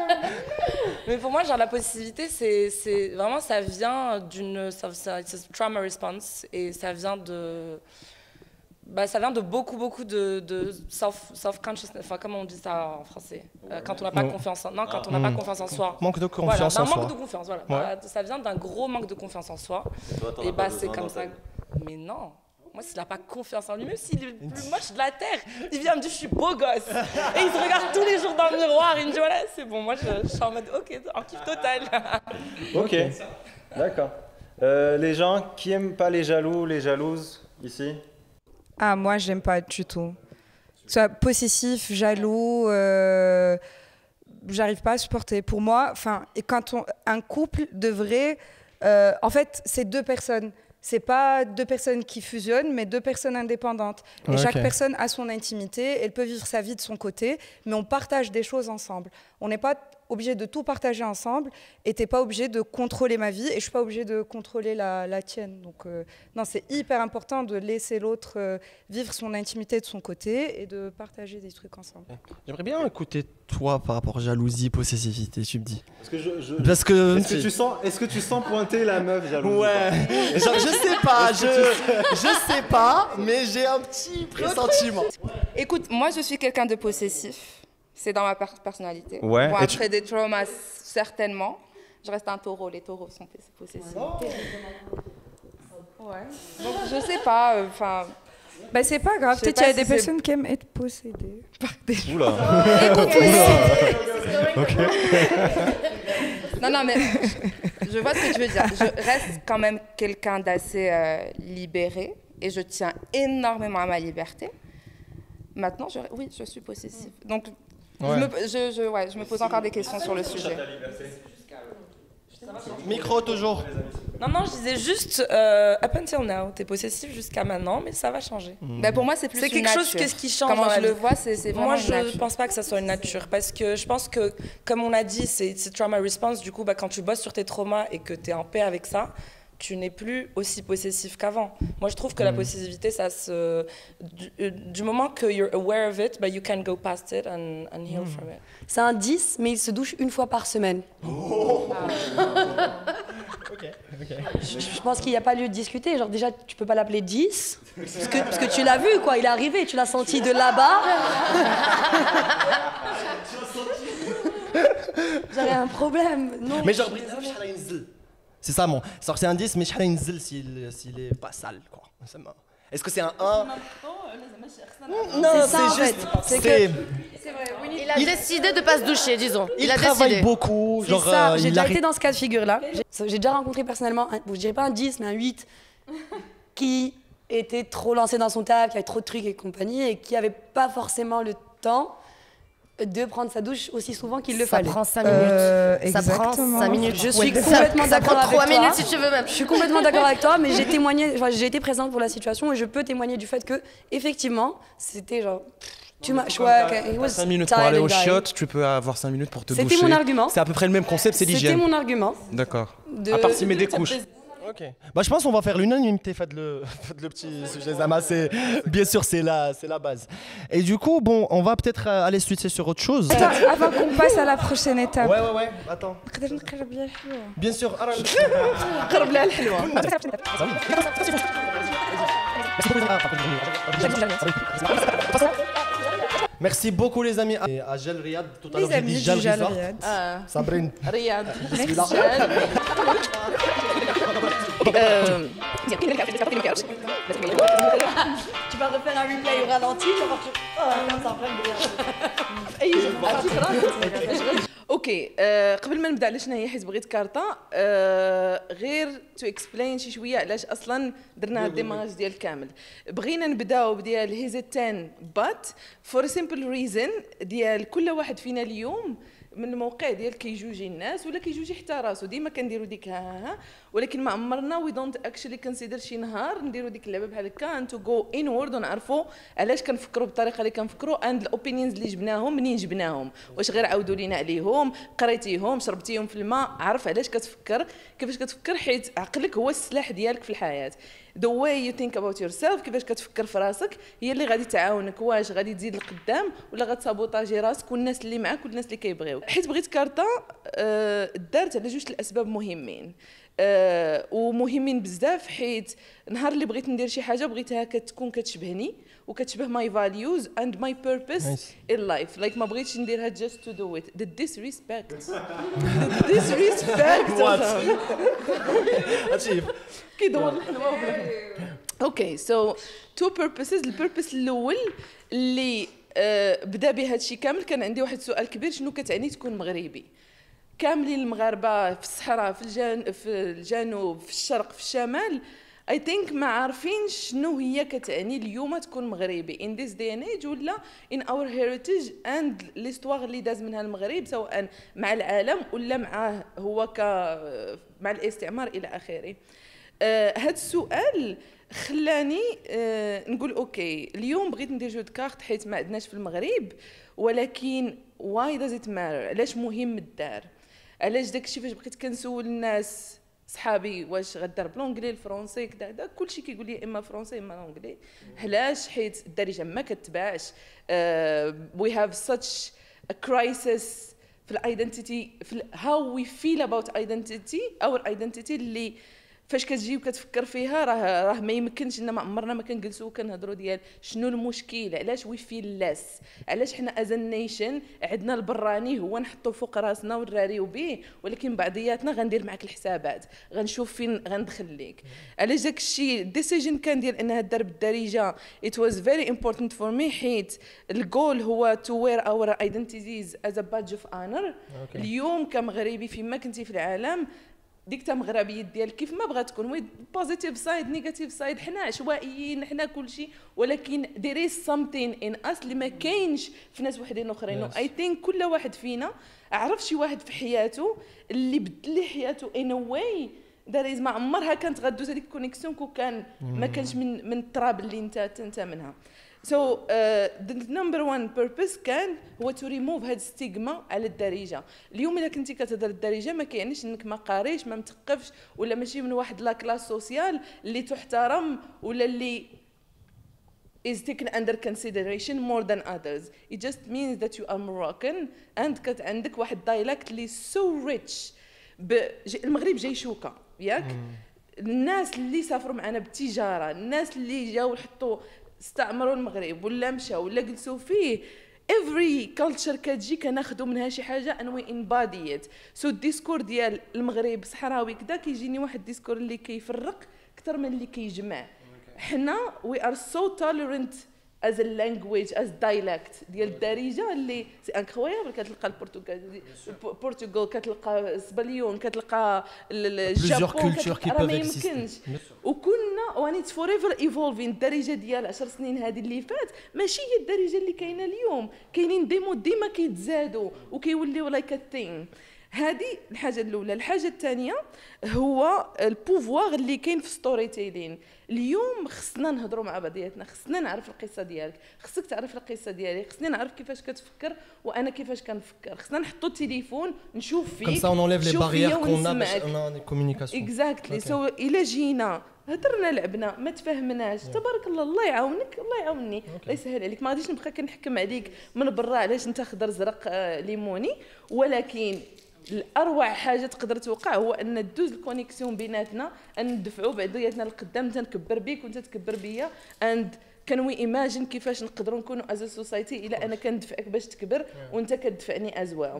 Mais pour moi, genre, la possessivité, c'est vraiment, ça vient d'une... c'est trauma response, et ça vient de... Bah, ça vient de beaucoup de self-consciousness, enfin, comment on dit ça en français? Quand on n'a pas confiance en... Non, quand on n'a pas confiance en soi. Manque de Voilà, confiance d'un en soi. manque de confiance, voilà. Ouais. Bah, ça vient d'un gros manque de confiance en soi. Toi, t'en Et as bah, pas c'est besoin comme dans ta ça. vie. Mais non. Moi, s'il n'a pas confiance en lui, même s'il est le plus moche de la Terre, il vient me dire je suis beau gosse. Et il se regarde tous les jours dans le miroir. Il me dit voilà, c'est bon. Moi, je suis en mode ok, en kiff total. Ok, d'accord. Les gens qui aiment pas les jaloux, les jalouses, ici? Ah, moi, j'aime pas du tout. Soit possessif, jaloux, j'arrive pas à supporter. Pour moi, un couple devrait... en fait, c'est 2 personnes. C'est pas 2 personnes qui fusionnent, mais 2 personnes indépendantes. Et Ok. chaque personne a son intimité, elle peut vivre sa vie de son côté, mais on partage des choses ensemble. On n'est pas obligé de tout partager ensemble, et t'es pas obligé de contrôler ma vie, et je suis pas obligée de contrôler la tienne. Donc non, c'est hyper important de laisser l'autre vivre son intimité de son côté, et de partager des trucs ensemble. J'aimerais bien écouter toi par rapport à jalousie, possessivité, tu me dis. Parce que Parce que... Est-ce que tu sens pointer la meuf jalouse? Ouais. Genre, je sais pas, je sais pas, mais j'ai un petit pressentiment. Écoute, moi, je suis quelqu'un de possessif. C'est dans ma personnalité. Ouais, Bon, et après des traumas, certainement. Je reste un taureau. Les taureaux sont possessifs. Ouais. Donc, je sais pas. Enfin. Bah, c'est pas grave, Je sais peut-être qu'il y a pas des si c'est- personnes qui aiment être possédées par des gens. Oula. Non, mais je vois ce que tu veux dire. Je reste quand même quelqu'un d'assez libéré et je tiens énormément à ma liberté. Maintenant, oui, je suis possessive. Donc, Ouais. je me pose encore des questions sur le sujet. Micro toujours. Non, je disais juste, up until now, t'es possessif jusqu'à maintenant, mais ça va changer. Bah, pour moi, c'est plus quelque chose qui change. Comment dans je la le vie. vois, c'est vraiment Moi, une nature. je pense pas que ça soit une nature, parce que je pense que, comme on a dit, c'est trauma response. Du coup, quand tu bosses sur tes traumas et que t'es en paix avec ça, tu n'es plus aussi possessif qu'avant. Moi, je trouve que la possessivité, ça se... Du moment que you're aware of it, you can go past it and heal from it. C'est un 10, mais il se douche une fois par semaine. Je pense qu'il n'y a pas lieu de discuter. Genre, déjà, tu peux pas l'appeler 10, parce que tu l'as vu, quoi. Il est arrivé, tu l'as senti de là-bas. J'avais un problème. Non. Mais genre, c'est ça, mon. C'est un 10, mais s'il est pas sale, quoi. Est-ce que c'est un 1? Non, c'est juste. C'est que. Il a décidé de pas se doucher, disons. Il travaille beaucoup. C'est ça, j'ai déjà été dans ce cas de figure-là. J'ai déjà rencontré personnellement, je dirais pas un 10, mais un 8, qui était trop lancé dans son taf, qui avait trop de trucs et compagnie, et qui avait pas forcément le temps de prendre sa douche aussi souvent qu'il le fallait. Ça prend 5 minutes. Ça prend 5 minutes. Je suis complètement d'accord avec toi. 3 minutes si tu veux même. Je suis complètement d'accord avec toi, mais j'ai été présente pour la situation et je peux témoigner du fait que, effectivement, c'était genre... Tu m'as choisi. 5 minutes pour aller aux chiottes, tu peux avoir 5 minutes pour te doucher. C'était mon argument. C'est à peu près le même concept, c'est l'hygiène. C'était mon argument. D'accord. À part s'il met des couches. Ok. Je pense qu'on va faire l'unanimité. Faites le petit sujet Zama. Bien sûr, c'est la base. Et du coup, bon, on va peut-être aller switcher sur autre chose. Attends, avant qu'on passe à la prochaine étape. Ouais. Attends. Bien sûr. Merci beaucoup les amis. Et à Gel Riyad, tout à l'heure j'ai dit Gel Riyad. Sabrine. Riyad. Tu vas refaire un replay au ralenti, tu vas voir que... اوكي قبل ما نبدا على شنو هي حيت بغيت كارطه غير تو اكسبلين شي شويه علاش اصلا درنا هاد الديماج ديال كامل بغينا نبداو بديال هيزيتان بات فور سيمبل ريزن ديال كل واحد فينا اليوم من الموقع ديال كيجوجي الناس ولا كيجوجي حتى راسو ديما كنديروا ديك ها ولكن ما عمرنا وي دونت اكشلي كونسيدر شي نهار نديروا ديك اللعبه بحال هكا ان تو جو انورد ونعرفوا علاش كنفكروا بالطريقه اللي كنفكروا اند الاوبينيونز اللي جبناهم منين جبناهم واش غير عاودوا لينا عليهم قريتيهم شربتيهم في الماء عرف علاش كتفكر كيفاش كتفكر حيت عقلك هو السلاح ديالك في الحياه the way you think about yourself كيفاش كتفكر في راسك هي اللي غادي تعاونك واش غادي تزيد لقدام ولا غتسابوطاجي راسك والناس اللي معاك والناس اللي كيبغيوك حيت بغيت كارطه دارت على جوج الاسباب مهمين ومهمين بزاف حيت نهار اللي بغيت ندير شي حاجه بغيتها كتكون كتشبهني وكتشبه my values and my purpose in life like ما بغيتش نديرها just to do it the disrespect كيدور الحلوه اوكي سو تو بيربسز البيربس الاول اللي بدا به هادشي كامل كان عندي واحد السؤال كبير شنو كتعني تكون مغربي كاملين المغاربه في الصحراء في الجنوب في الشرق في الشمال I think ما عارفين شنو هي كتعني اليوم تكون مغربي in this day and age ولا in our heritage and l'histoire اللي داز منها المغرب سواء مع العالم ولا معاه هو مع الاستعمار الى اخره. هاد السؤال خلاني نقول اوكي اليوم بغيت ندير جو كارت حيت ما عندناش في المغرب ولكن why does it matter علاش مهم الدار علاش داكشي فاش بقيت كنسول الناس صحابي واش غدار بالونجلي الفرونسي كذا كلشي كيقول لي اما فرونسي اما اونجلي علاش حيت الدارجه ما كتباعش we have such a crisis في الايدنتيتي في how we feel about identity our identity اللي فاش كتجي وكتفكر فيها راه ما يمكنش ان ما عمرنا ما كنجلسوا وكنهضروا ديال شنو المشكل علاش وي فيل لاس علاش حنا از نيشن عندنا البراني هو نحطو فوق راسنا ونراريو به ولكن بعضياتنا غندير معك الحسابات غنشوف فين غندخل ليك علاش داك الشيء الديسيجن كان ديال انها دار بالدارجه it was very important for me حيت الجول هو to wear our identities as a badge of honor اليوم كمغربي فيما كنتي في العالم ديك تا مغربيه ديال كيف ما بغات تكون وي بوزيتيف سايد نيجاتيف سايد حنا عشوائيين حنا كلشي ولكن there is something in us اللي ما كاينش في ناس وحدين اخرين اي ثينك كل واحد فينا عرف شي واحد في حياته اللي بدل لي حياته in a way داريز ما عمرها كانت غدوز هذيك الكونيكسيون كون كان ما كانش من التراب اللي انت منها. So the number one purpose كان هو to remove هاد ستيغما على الدارجه. اليوم الا كنتي كتهضر الدارجه ما كيعنيش انك ما قاريش ما مثقفش ولا ماشي من واحد لا كلاس سوسيال اللي تحترم ولا اللي is taken under consideration more than others. It just means that you are Moroccan and كت عندك واحد dialect اللي so rich. المغرب جاي شوكه ياك الناس اللي سافروا معنا بالتجاره الناس اللي جاوا حطوا استعمروا المغرب ولا مشاو ولا جلسوا فيه every culture كتجي كناخذوا منها شي حاجه and we embody it. So الديسكور ديال المغرب صحراوي كذا كيجيني واحد الديسكور اللي كيفرق اكثر من اللي كيجمع. حنا we are so tolerant as a language as dialect ديال الدارجه اللي سي انكرويابل. كتلقى البرتغال كتلقى اسبانيون كتلقى الجابون راه ما يمكنش وكنا وان اتس فور ايفر ايفولفين. الدارجه ديال 10 سنين هذه اللي فات ماشي هي الدارجه اللي كاينه اليوم. كاينين دي مود ديما كيتزادوا وكيوليو لايك ا ثينغ. هذه الحاجه الاولى. الحاجه الثانيه هو البوفوار اللي كاين في ستوري تيلين. اليوم خصنا نهضروا مع بعضياتنا خصنا نعرف القصه ديالك خصك تعرف القصه ديالي خصني نعرف كيفاش كتفكر وانا كيفاش كنفكر. خصنا نحطوا التليفون نشوف فيك كم سا اون انليف لي باريير كون ا باش انا كومونيكاسيون اكزاكتلي. سو الا جينا هضرنا لعبنا ما تفاهمناش تبارك الله الله يعاونك الله يعاوني الله يسهل عليك. ما غاديش نبقى كنحكم عليك من برا علاش انت خضر زرق ليموني. ولكن الاروع حاجه تقدر توقع هو ان دوز الكونيكسيون بيناتنا ان ندفعوا بعضياتنا للقدام. انت نكبر بيك وانت تكبر بيا اند كان وي ايماجين كيفاش نقدروا نكونوا از سوسايتي الى انا كندفعك باش تكبر وانت كتدفعني از ويل.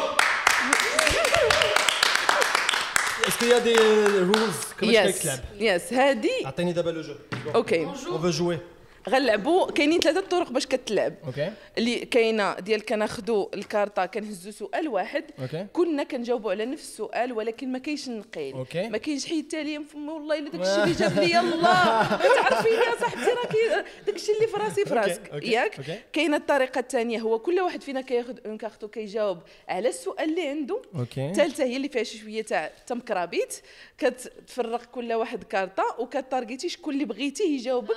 اسكو يا دي رولز كيفاش كتلعب؟ يس هادي عطيني دابا لو جو. اوكي اون فو جوي. غنلعبوا كاينين 3 طرق باش كتلعب. اوكي اللي كاينه ديال كناخذوا الكارطه كنهزوا سؤال واحد كلنا كنجاوبوا على نفس السؤال ولكن ما كاينش النقيل ما كاينش حيد التالي فمي والله الا داكشي اللي جاب لي يلاه تعرفيني يا صاحبتي راه داكشي اللي في راسي في راسك ياك. كاينه الطريقه الثانيه هو كل واحد فينا كياخذ اون كارطو كيجاوب على السؤال اللي عنده. الثالثه هي اللي فيها شويه تاع تمكرابيت كتفرق كل واحد كارطه وكتارغيتي شكون اللي بغيتي يجاوبك.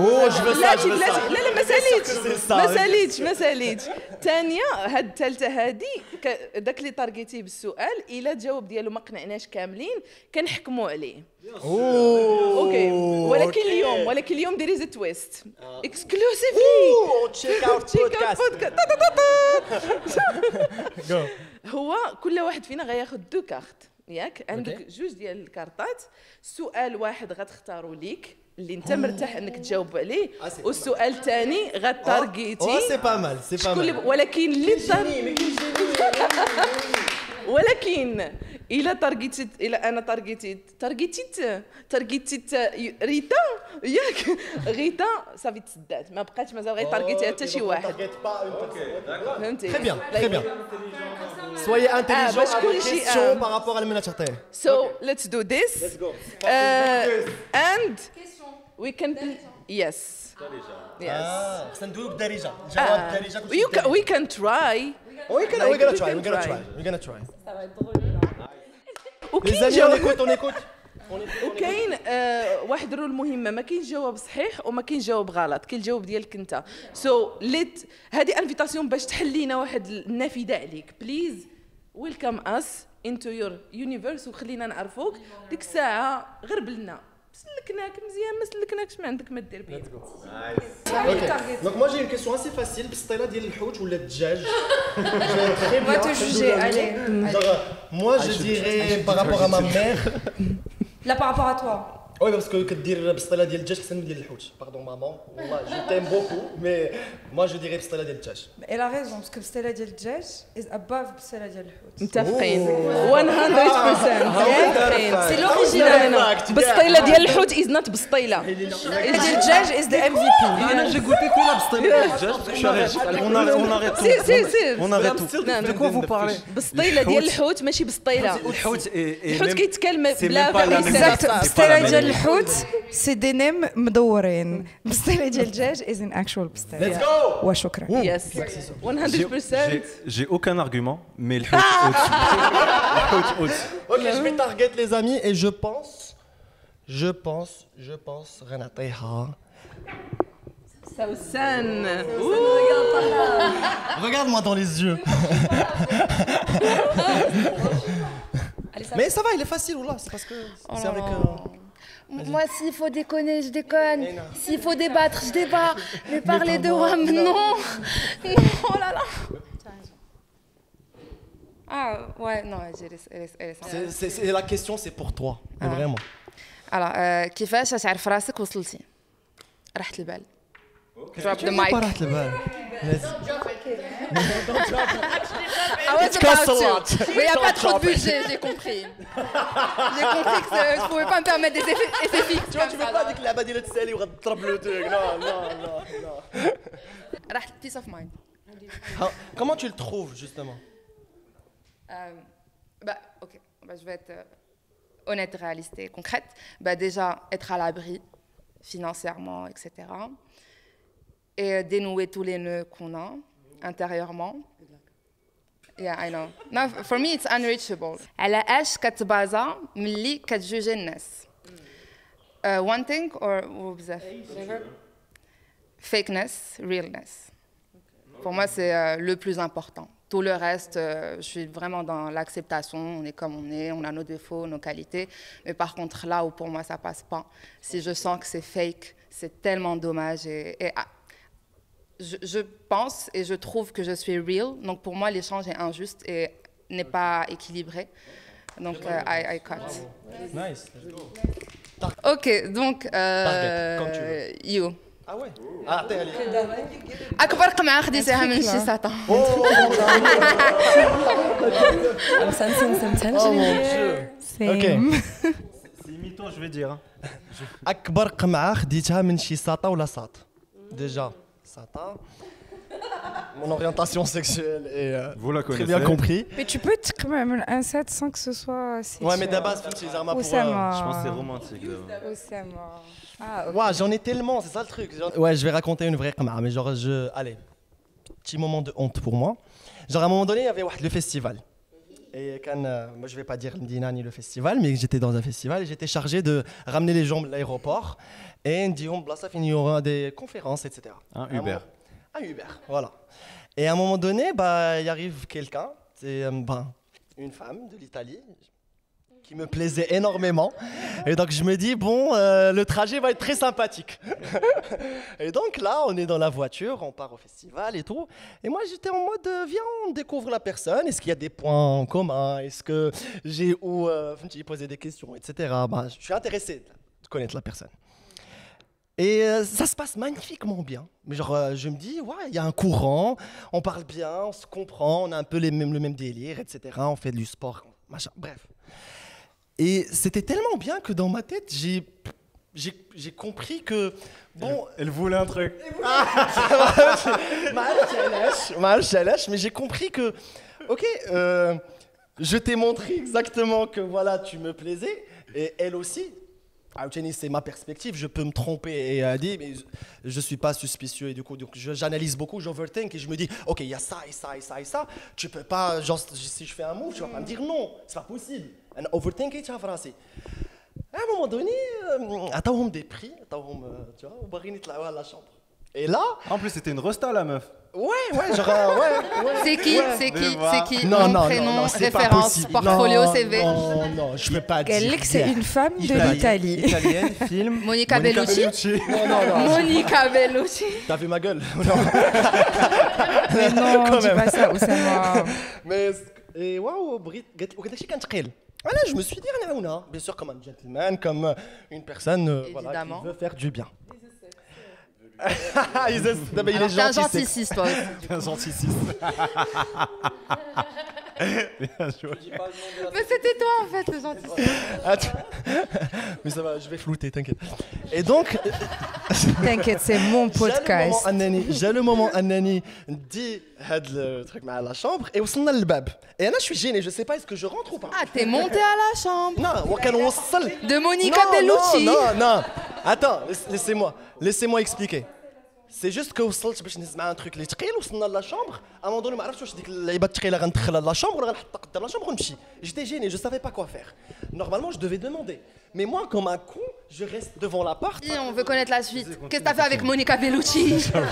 لا ما ساليتش ثانيه هاد الثالثه هادي داك اللي تارغيتيه بالسؤال الا جاوب ديالو ما قنعناش كاملين كنحكموا عليه. اوكي ولكن اليوم ديري زي تويست اكسكلوسيفلي تشيك اوت بودكاست. هو كل واحد فينا غياخذ 2 كارت ياك عندك جوج ديال الكارطات. سؤال واحد غتختاروا ليك اللي انت مرتاح انك تجاوب عليه والسؤال الثاني غتارغيتي سي با مال ولكن اللي ولكن الا تارغيتيت الا انا تارغيتيت ريتا ياك غيتا صافي تسدات ما بقاتش مازال غير تارغيتي حتى شي واحد. فهمتي تري بيان soyez intelligent avec les questions par rapport à la menace terre. So let's do this. Let's go. And we can yes. Yes. سندوق دارجه جواب دارجه we can try. We're gonna try. Les amis on écoute. وكاين واحد الرول مهمه ما كاينش جواب صحيح وما كاينش جواب غلط كاين الجواب ديالك انت. سو ليت هذه انفيتاسيون باش تحلينا واحد النافذه عليك. بليز ويلكم اس انتو يور يونيفرس وخلينا نعرفوك. ديك الساعه غربلنا سلكناك مزيان ما سلكناكش ما عندك ما دير بيه. دونك moi j'ai une question assez facile بالسطيله ديال الحوت ولا الدجاج. On va te juger, allez. Moi je dirais par rapport à ma mère. Là par rapport à toi. Oui parce que كدير بالسطيله ديال الدجاج احسن من ديال الحوت. Pardon maman. والله je t'aime beaucoup mais moi je dirais بالسطيله ديال الدجاج. Elle a raison parce que بالسطيله ديال الدجاج is above بالسطيله ديال الحوت. متفقين 100%. سي لوريجينال. بالسطيله ديال الحوت is not بالسطيله. ديال الدجاج is the MVP. انا j'ai goûté que la بالسطيله ديال الدجاج. On arrête tout. De quoi vous parlez? بالسطيله ديال الحوت ماشي بالسطيله. الحوت كيتكلم بلا بالسطيله ديال ديال الحوت سي دي نيم مدورين بستيله ديال الدجاج از ان اكشوال بستيله. Let's go. وشكرا. Yes. 100%. J'ai aucun argument, mais le Hout au-dessus. Le Hout au-dessus. Ok, je vais target les amis et je pense Renata. Saousan. Regarde-moi dans les yeux. Mais ça va, il est facile, là. C'est parce que c'est avec. Moi, s'il faut déconner, je déconne. S'il faut débattre, je débat. Mais parler de WAM, non. Oh là là. Ah, ouais, non, C'est la question, c'est pour toi. Vraiment. Alors, كيفاش تعرف راسك وصلتي؟ راحت البال. Drop the mic. راحت البال. I was about to. Mais il n'y a pas trop de budget, j'ai compris. J'ai compris que je ne pouvais pas me permettre des effets fixes. Tu vois, tu veux pas dire que la badine de Sally va te trapper le truc. Non. راحت peace of mind. Comment tu le trouves, justement? Ok, je vais être honnête, réaliste et concrète. Déjà, être à l'abri financièrement, etc. Et dénouer tous les nœuds qu'on a intérieurement. Yeah, I know. No, for me, it's unreachable. على اش كتبازا ملي كتجوجي الناس. One thing or بزاف. Fakeness, realness. Pour moi, c'est le plus important. Tout le reste, je suis vraiment dans l'acceptation. On est comme on est, on a nos défauts, nos qualités. Mais par contre, là où pour moi ça passe pas, si je sens que c'est fake, c'est tellement dommage. Je pense et je trouve que je suis real. Donc pour moi, l'échange est injuste et n'est pas équilibré. Donc I cut. Nice. Ok, donc you. Ah ouais. Ah, t'es allé. أكبر قمعة خديتيها من شي ساطة. Oh mon Dieu. Ok. C'est mytho, je vais dire. أكبر قمعة خديتها من شي ساطة ولا ساط. Déjà, sata. Mon orientation sexuelle est Vous la très connaissez. bien compris. Mais tu peux quand même un set sans que ce soit sexuel. Ouais, mais d'abord, c'est les armes pour. Je pense que c'est romantique. d'abord. Ah, ok. Ouais, j'en ai tellement, c'est ça le truc. Ouais, je vais raconter une vraie qamara, mais genre, allez, petit moment de honte pour moi. Genre, à un moment donné, il y avait le festival. Et quand, moi, je vais pas dire Mdina ni le festival, mais j'étais dans un festival et j'étais chargé de ramener les gens de l'aéroport. Et il y aura des conférences, etc. Un Uber. Un Uber, voilà. Et à un moment donné, il arrive quelqu'un, c'est une femme de l'Italie, qui me plaisait énormément. Et donc je me dis, bon, le trajet va être très sympathique. Et donc là, on est dans la voiture, on part au festival et tout. Et moi, j'étais en mode, viens, on découvre la personne. Est-ce qu'il y a des points en commun? Est-ce que j'ai où poser des questions, etc. Je suis intéressé de connaître la personne. Et ça se passe magnifiquement bien. Mais genre, je me dis, ouais, il y a un courant, on parle bien, on se comprend, on a un peu le même délire, etc. On fait du sport, machin, bref. Et c'était tellement bien que dans ma tête, j'ai compris que, bon... Elle voulait un truc. Mais j'ai compris que, ok, je t'ai montré exactement que, voilà, tu me plaisais, et elle aussi... c'est ma perspective, je peux me tromper et dire, mais je ne suis pas suspicieux et du coup j'analyse beaucoup, j'overthink et je me dis, ok, il y a ça et ça et ça et ça, tu peux pas, genre si je fais un move, tu vas pas me dire non, c'est pas possible. Un overthink et tu vas français. À un moment donné, attends, des prix, tu vois, on va à la chambre. Et là... En plus, c'était une rosta, la meuf. Ouais, genre, ouais. C'est qui Non, nom, prénom, référence, portfolio, CV. Non, je peux pas dire. Elle dit que c'est une femme de l'Italie. Italienne, film. Monica Bellucci. Non. Monica Bellucci. T'as vu ma gueule? Mais non, dis pas ça, Oussama. Mais, waouh, voilà, je me suis dit, bien sûr, comme un gentleman, comme une personne voilà, qui veut faire du bien. Il est gentil. T'es un gentil 6, toi aussi. Un gentil 6. Bien joué. Mais c'était toi en fait le gentil. Attends. Mais ça va, je vais flouter, t'inquiète. Et donc, T'inquiète, c'est mon podcast. j'ai le moment Anani dit le truc à la chambre et وصلنا للباب. Et là je suis gêné, je sais pas est-ce que je rentre ou pas. Ah, t'es monté à la chambre. Non, وكان وصل. De Monica Bellucci. Non. Attends, laissez-moi expliquer. C'est juste que وصلت باش نهز معاه un truc اللي ثقيل وصلنا لا شامبر à un moment donné ما عرفتش واش ديك اللعيبه الثقيله غندخلها لا شامبر ولا غنحطها قدام لا شامبر ونمشي. J'étais gêné, je savais pas quoi faire. Normalement, je devais demander. Mais moi comme un con, je reste devant la porte. Et on veut connaître la suite. Qu'est-ce que t'as fait avec Monica Bellucci?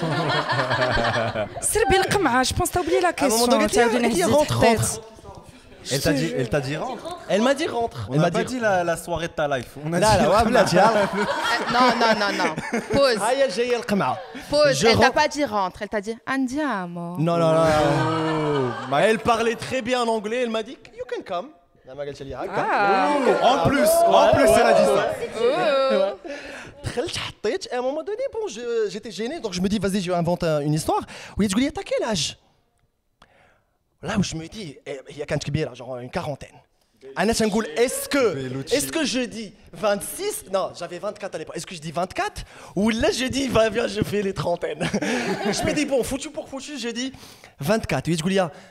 Serbi القمعة, je pense que t'as oublié la À un moment question. donné, elle dit rentre. Elle t'a dit rentre. Elle m'a dit rentre. On m'a pas dit la soirée de ta life. On a لا dit لا بلاتي Non. Pause. هيا جايه القمعه. Pause. Je Elle t'a rentre. pas dit rentre. Elle t'a dit andiamo. Non. Elle parlait très bien en anglais, elle m'a dit you can come. لا ما قالتش لي هكا. En plus, elle a dit ça. دخلت حطيت et à un moment donné bon j'étais gêné donc je me dis vas-y je vais inventer une histoire. وهي تقول لي t'as quel âge? Là où je me dis هي كانت كبيره genre une quarantaine. انا تنقول est-ce que je dis 26? Non, j'avais 24 à l'époque. Est-ce que je dis 24 ou là je dis viens je fais les trentaines. Je me dis bon foutu pour foutu je dis 24 وهي تقول لي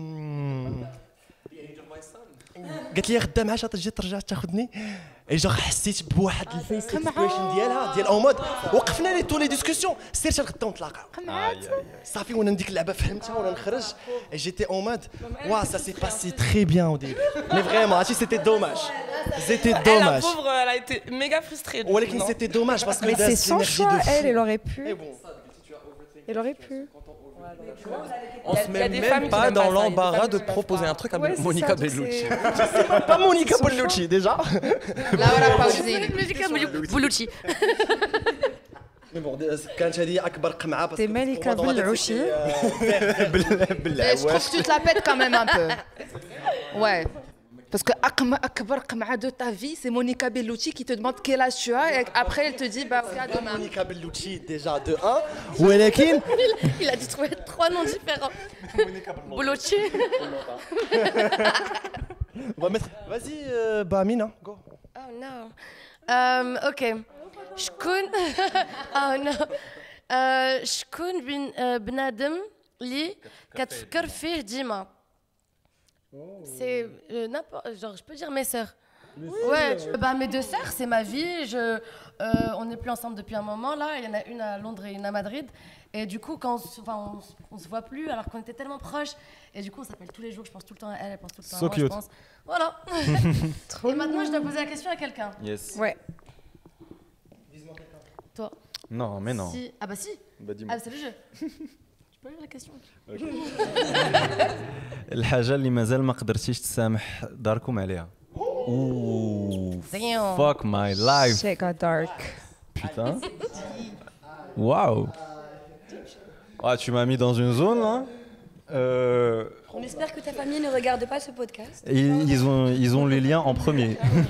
قالت لي غدا معاش تجي ترجع تاخذني اي جو حسيت بواحد الفيس اكسبريشن ديالها ديال او مود وقفنا لي تو لي ديسكسيون سير غدا نتلاقاو صافي وانا نديك اللعبه فهمتها وانا نخرج جيتي او مود وا سا سي باسي تري بيان او ديبي مي فريمون هادشي سيتي دوماج La pauvre, elle a été méga frustrée. ولكن سيتي دوماج باسكو Mais c'est son choix, elle aurait pu. Elle aurait pu. On se met même pas dans l'embarras de proposer un truc à Monica Bellucci. Pas Monica Bellucci déjà. Laura Pausini. Monica Bellucci. Mais bon كانت هذه اكبر قمعه باسكو T'es Malika Bellucci. Je trouve que tu te la pètes quand même un peu. Ouais. Parce que akbar qam'a de ta vie, c'est Monica Bellucci qui te demande quel âge tu as et après elle te dit bah à demain. Monica Bellucci déjà de 1 ولكن Il a dû trouver 3 noms différents. Bellucci. on va mettre vas-y bah Mina go. Oh no. Ok. شكون oh no. شكون بنادم اللي كتفكر فيه ديما. C'est n'importe genre je peux dire mes sœurs. Ouais, bah mes 2 sœurs, c'est ma vie. On n'est plus ensemble depuis un moment là. Il y en a une à Londres et une à Madrid. Et du coup, quand on se voit plus, alors qu'on était tellement proches. Et du coup, on s'appelle tous les jours. Je pense tout le temps à elle, elle pense tout le temps à moi. Cute. Je pense. Voilà. Et maintenant, je dois poser la question à quelqu'un. Yes. Ouais. Toi. Non, mais non. Si. Ah bah si. Bah dis-moi. Ah c'est le jeu. Je peux lire la question. الحاجة اللي مازال ما قدرتيش تسامح داركم عليها. Ouh. Damn. Fuck my life. Shit got dark. Putain. Waouh. Ah, tu m'as mis dans une zone là. On espère que ta famille ne regarde pas ce podcast. Ils ont les liens en premier.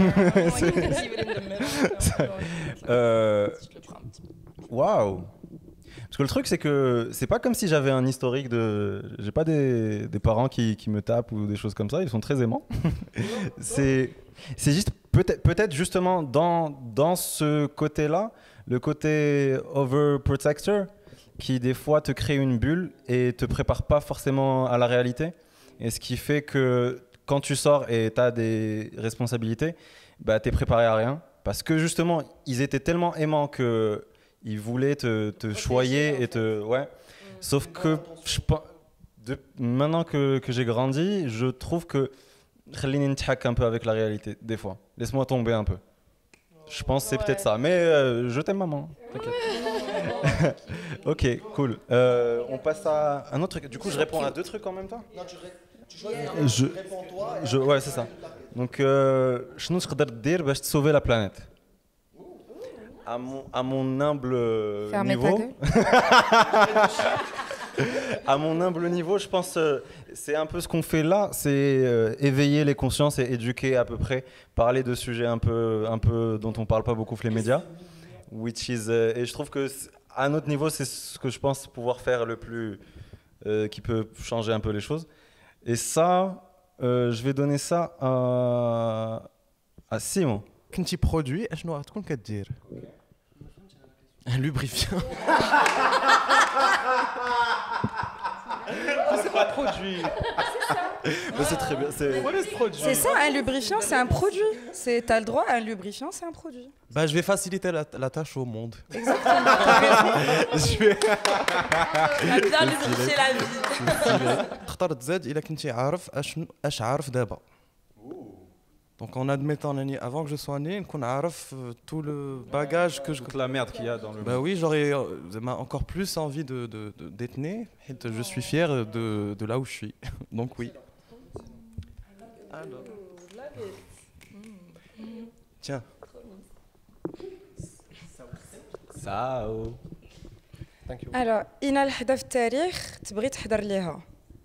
Waouh. Parce que le truc, c'est que c'est pas comme si j'avais un historique de. J'ai pas des parents qui me tapent ou des choses comme ça. Ils sont très aimants. C'est juste peut-être justement dans ce côté-là, le côté overprotector, qui des fois te crée une bulle et te prépare pas forcément à la réalité. Et ce qui fait que quand tu sors et tu as des responsabilités, bah, tu es préparé à rien. Parce que justement, ils étaient tellement aimants qu'ils voulaient te choyer et te... Ouais. Sauf que maintenant que j'ai grandi, je trouve que خليني نضحك un peu avec la réalité, des fois. Laisse-moi tomber un peu. Je pense que c'est peut-être ça. Mais je t'aime, maman. T'inquiète. Ok, cool. On passe à un autre truc. Du coup, je réponds à 2 trucs en même temps. Non, tu choisis. Réponds toi. Ouais, c'est ça. Donc, شنو تقدر دير باش sauver la planète? À mon humble niveau. À mon humble niveau, je pense c'est un peu ce qu'on fait là, c'est éveiller les consciences et éduquer à peu près, parler de sujets un peu dont on parle pas beaucoup les médias, et je trouve que à notre niveau, c'est ce que je pense pouvoir faire le plus, qui peut changer un peu les choses. Et ça, Je vais donner ça à Simon. كنتي برودوي اشنو غتكون كدير؟ Un lubrifiant. C'est pas produit. Mais c'est très bien. C'est ça, un lubrifiant, c'est un produit. T'as le droit, un lubrifiant, c'est un produit. Bah, je vais faciliter la tâche au monde. Exactement. Je vais. Bien lubrifier la vie. اخترت زاد إلا كنتي عارف اش عارف دابا. Donc en admettant avant que je sois né, qu'on عارف tout le bagage que je... Toute la merde qu'il y a dans le monde. Bah oui, j'aurais encore plus envie d'être né. Je suis fier de là où je suis. Donc oui. Alors. Tiens. Sao. Alors, إنا لحظة في التاريخ تبغي تحضر ليها.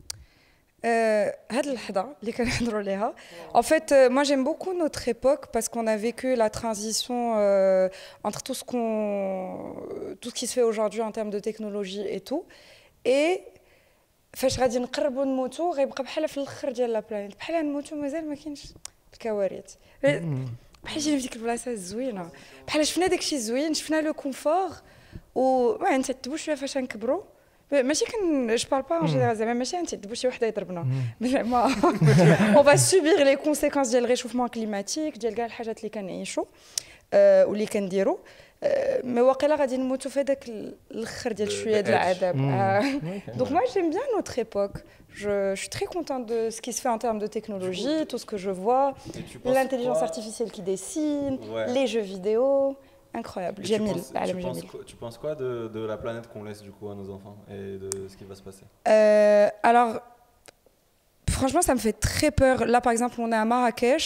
هاد اللحظة اللي كنحضروا ليها. En fait, moi j'aime beaucoup notre époque parce qu'on a vécu la transition entre tout ce qui se fait aujourd'hui en termes de technologie et tout. Et فاش غادي نقربوا نموتوا غيبقى بحال في الاخر ديال لا بلانيت بحال نموتوا مازال ما كاينش الكوارث بحال شي في ديك البلاصه الزوينه بحال شفنا داكشي الزوين شفنا لو كونفور و نتعذبوا شويه فاش نكبروا ماشي جو بارل با ان جينيرال زعما ماشي نتعذبوا شي وحده يضربنا زعما اون فا سوبير لي كونسيكونس ديال الريشوفمون كليماتيك ديال كاع الحاجات اللي كنعيشوا واللي كنديروا mais واقيلا غادي نموتوا في هذاك الاخر ديال شويه ديال العذاب donc moi j'aime bien notre époque je suis très contente de ce qui se fait en termes de technologie tout ce que je vois l'intelligence artificielle qui dessine les jeux vidéo incroyable Jamil tu penses quoi de la planète qu'on laisse du coup à nos enfants et de ce qui va se passer alors franchement ça me fait très peur là par exemple on est à Marrakech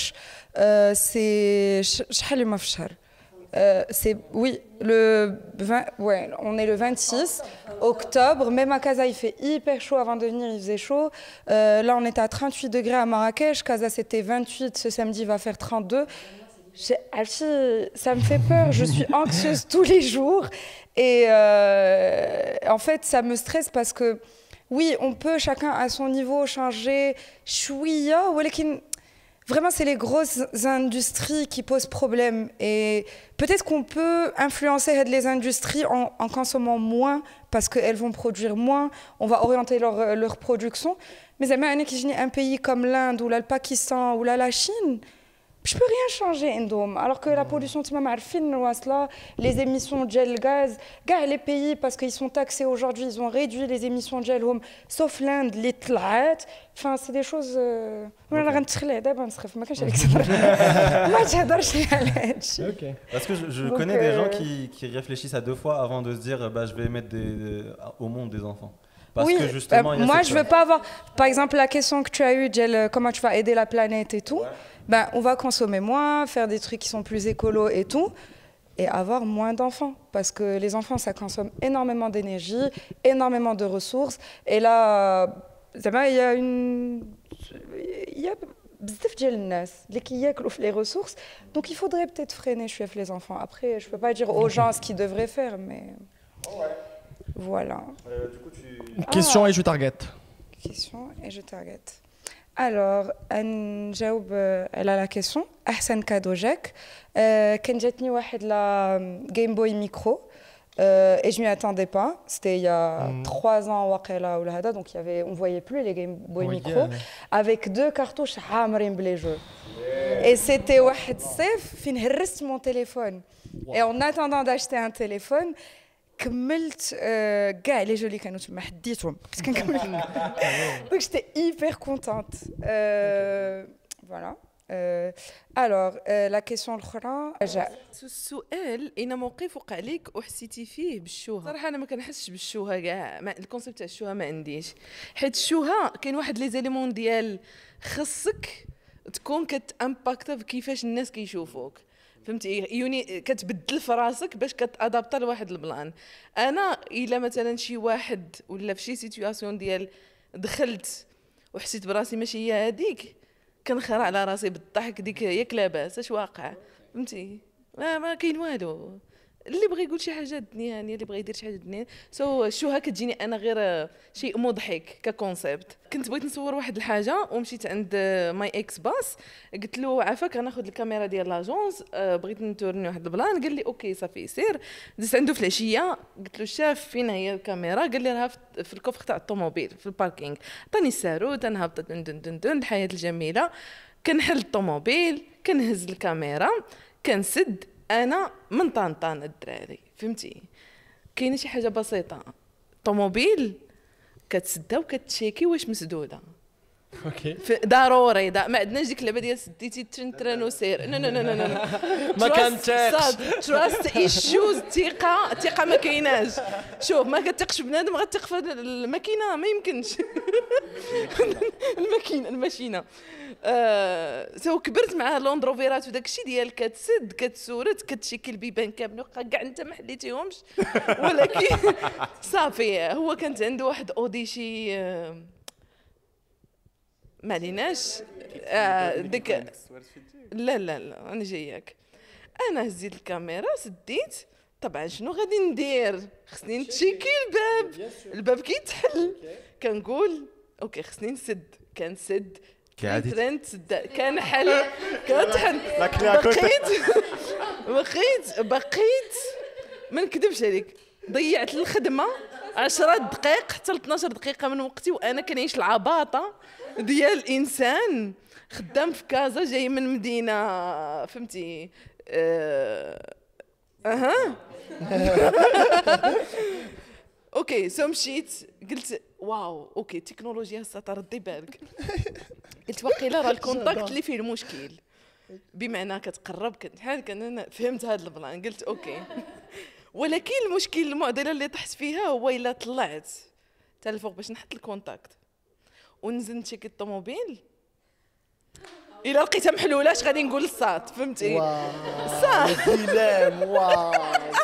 c'est شحال اليوم في الشهر c'est oui le 20 ouais on est le 26 octobre même à Casa il fait hyper chaud avant de venir il faisait chaud là on était à 38 degrés à Marrakech Casa c'était 28 ce samedi va faire 32 ça me fait peur je suis anxieuse tous les jours et en fait ça me stresse parce que oui on peut chacun à son niveau changer chouïa ولكن vraiment, c'est les grosses industries qui posent problème. Et peut-être qu'on peut influencer les industries en consommant moins parce qu'elles vont produire moins. On va orienter leur production. Mais un pays comme l'Inde ou le Pakistan ou la Chine, je ne peux rien changer. Alors que la pollution, les émissions de gaz, les pays, parce qu'ils sont taxés aujourd'hui, ils ont réduit les émissions de gel, sauf l'Inde, les tlaat. Enfin, c'est des choses. Parce que je connais des gens qui réfléchissent à deux fois avant de se dire bah, je vais mettre au monde des enfants. Parce oui, que justement, moi je veux pas avoir. Par exemple, la question que tu as eue, comment tu vas aider la planète et tout. Ben, on va consommer moins, faire des trucs qui sont plus écolos et tout, et avoir moins d'enfants. Parce que les enfants, ça consomme énormément d'énergie, énormément de ressources. Et là, il y a بزاف ديال الناس اللي كياكلوا في les ressources. Donc il faudrait peut-être freiner les enfants. Après, je peux pas dire aux gens ce qu'ils devraient faire, mais voilà. Du coup, Question et je target. Question et je target. Alors, نجاوب على la question. أحسن كادو جاك كان جاتني واحد لا Game Boy Micro et je m'y attendais pas. C'était il y a 3 ans واقيلا ولا هذا donc on voyait plus les Game Boy Micro avec 2 cartouches عامرين بلي jeux. Et c'était واحد الصيف فين هرست mon téléphone. Et en attendant d'acheter un téléphone كملت كاع لي جو اللي كانوا تما حديتهم بس كنكمل donc j'étais hyper contente voilà alors la question الاخرى السؤال اين موقف وقع لك وحسيتي فيه بالشوهه صراحه انا ما كنحسش بالشوهه كاع الكونسيبت تاع الشوهه ما عنديش حيت الشوهه كاين واحد لي زيليمون ديال خصك تكون كتامباكتا بكيفاش الناس كيشوفوك فهمتي يوني كتبدل في راسك باش كتادابطا لواحد البلان انا الا مثلا شي واحد ولا في شي سيتوياسيون ديال دخلت وحسيت براسي ماشي هي هذيك كنخرع على راسي بالضحك ديك ياك لاباس اش واقع فهمتي ما كاين والو اللي بغى يقول شي حاجه دنيانيه اللي بغى يدير شي حاجه دنيانيه شو هكا تجيني انا غير شيء مضحك ككونسيبت. كنت بغيت نصور واحد الحاجه ومشيت عند ماي اكس باس قلت له عافاك غناخذ الكاميرا ديال لاجونس بغيت نتورني واحد البلان قال لي اوكي صافي سير. دزت عنده في العشيه قلت له شاف فين هي الكاميرا قال لي راها في الكوفر تاع الطوموبيل في الباركينغ. عطاني الساروت انا هبطت دن دن دن دن الحياه الجميله كنحل الطوموبيل كنهز الكاميرا كنسد انا من طنطان الدراري فهمتي. كاينه شي حاجه بسيطه طوموبيل كتسدها وكتشيكي واش مسدوده اوكي ضروري ما عندناش ديك اللعبه ديال سديتي ترن وسير لا لا لا لا ما كنتيقش تراست ايشوز الثقه ما كايناش. شوف ما كتثقش بنادم غتثق في الماكينه ما يمكنش الماشينه سو كبرت مع لوندروفيرات وداك الشيء ديال كتسد كتسورت كتشيكي البيبان كامل كاع انت ما حليتيهمش ولكن صافي هو كانت عنده واحد اوديشي ما عليناش ديك لا لا لا انا جاياك. انا هزيت الكاميرا سديت طبعا شنو غادي ندير خصني نتشيكي الباب كيتحل كنقول اوكي خصني نسد كنسد كان سد كان حل كتحل بقيت ما نكذبش عليك ضيعت الخدمه 10 دقائق حتى 12 دقيقه من وقتي وانا كنعيش العباطه ديال الانسان خدام في كازا جاي من مدينه فهمتي اوكي سو مشيت قلت واو اوكي التكنولوجيا هسه تردي بالك قلت واقيلا راه الكونتاكت اللي فيه المشكل بمعنى كتقرب كان فهمت هذا البلان قلت اوكي. ولكن المشكل المعضله اللي طحت فيها هو الا طلعت حتى الفوق باش نحط الكونتاكت ونزل نشيك الطوموبيل الا لقيتها محلوله اش غادي نقول للصاد فهمتي صح واو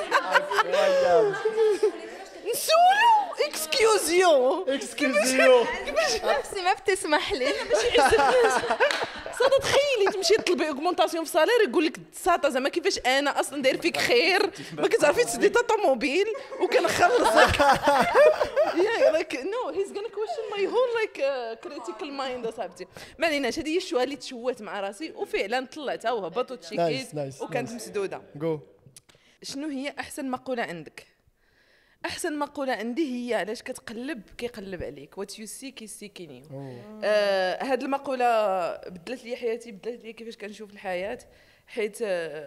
نسولو اكسكيوزيو نفسي ما بتسمح لي صاد تخيلي تمشي تطلبي اوغمونطاسيون في صالير يقول لك ساطا زعما كيفاش انا اصلا داير فيك خير ما كتعرفي تسدي طوموبيل وكنخلصك يا لايك نو هيز غانا كويشن ماي هول لايك كريتيكال مايند اصاحبتي. ما عليناش هذه هي الشوهه اللي تشوهت مع راسي وفعلا طلعتها وهبط وتشيكيت وكانت مسدوده. شنو هي احسن مقوله عندك؟ احسن مقوله عندي هي علاش كتقلب كيقلب عليك وات يو سي كيسيكيني. هاد المقوله بدلت لي حياتي بدلت لي كيفاش كنشوف الحياه حيت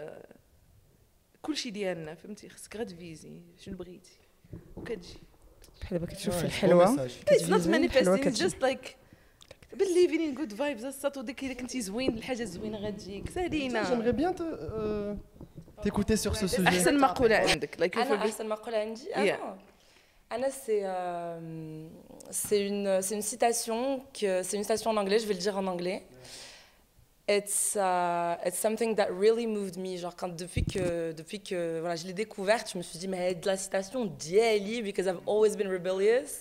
كلشي ديالنا فهمتي خصك غير تفيزي شنو بغيتي وكتجي بحال دابا كتشوف في الحلوه اتس نوت مانيفيستين جاست لايك بليفين ان جود فايبز الساطو ديك الا كنتي زوين الحاجه زوينه غتجيك سالينا. J'aimerais bien t'écouter sur ce sujet. احسن مقوله عندك لايك انا احسن مقوله عندي Anna, c'est une citation en anglais, je vais le dire en anglais. It's something that really moved me. Genre, depuis que voilà, je l'ai découverte, je me suis dit, mais de la citation, d'Eli, because I've always been rebellious.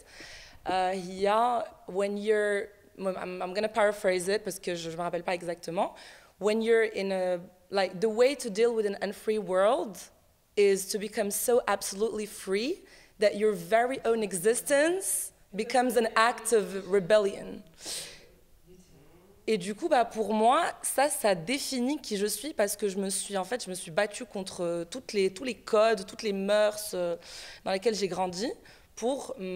When you're, I'm going to paraphrase it parce que je ne me rappelle pas exactement. When you're in a, like, the way to deal with an unfree world is to become so absolutely free that your very own existence becomes an act of rebellion. Et du coup, bah, pour moi, ça définit qui je suis parce que je me suis battue contre tous les codes, toutes les mœurs dans lesquelles j'ai grandi pour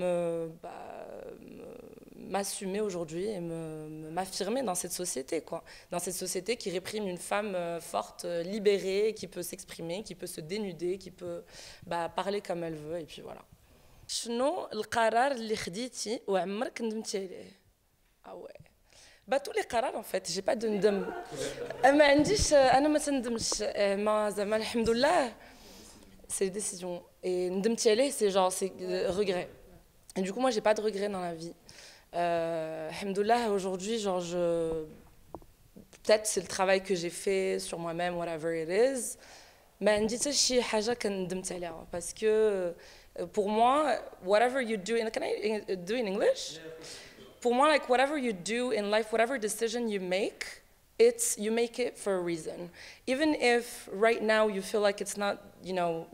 m'assumer aujourd'hui et m'affirmer dans cette société, quoi. Dans cette société qui réprime une femme forte, libérée, qui peut s'exprimer, qui peut se dénuder, qui peut parler comme elle veut, et puis voilà. شنو القرار اللي خديتي وعمرك ندمتي عليه؟ tous les قرار en fait, j'ai pas de ندم. ما عنديش انا ما تندمش ما زعما الحمد لله. C'est des décisions et ندمتي عليه c'est genre c'est regret. Et du coup moi j'ai pas de regrets dans la vie. Alhamdoulilah, aujourd'hui genre peut-être c'est le travail que j'ai fait sur moi-même, whatever it is. ما عندي حتى شي حاجه كندمت عليها parce que pour moi whatever you do can I do in English? For moi, like whatever you do in life, whatever decision you make, you make it for a reason. Even if right now you feel like it's not,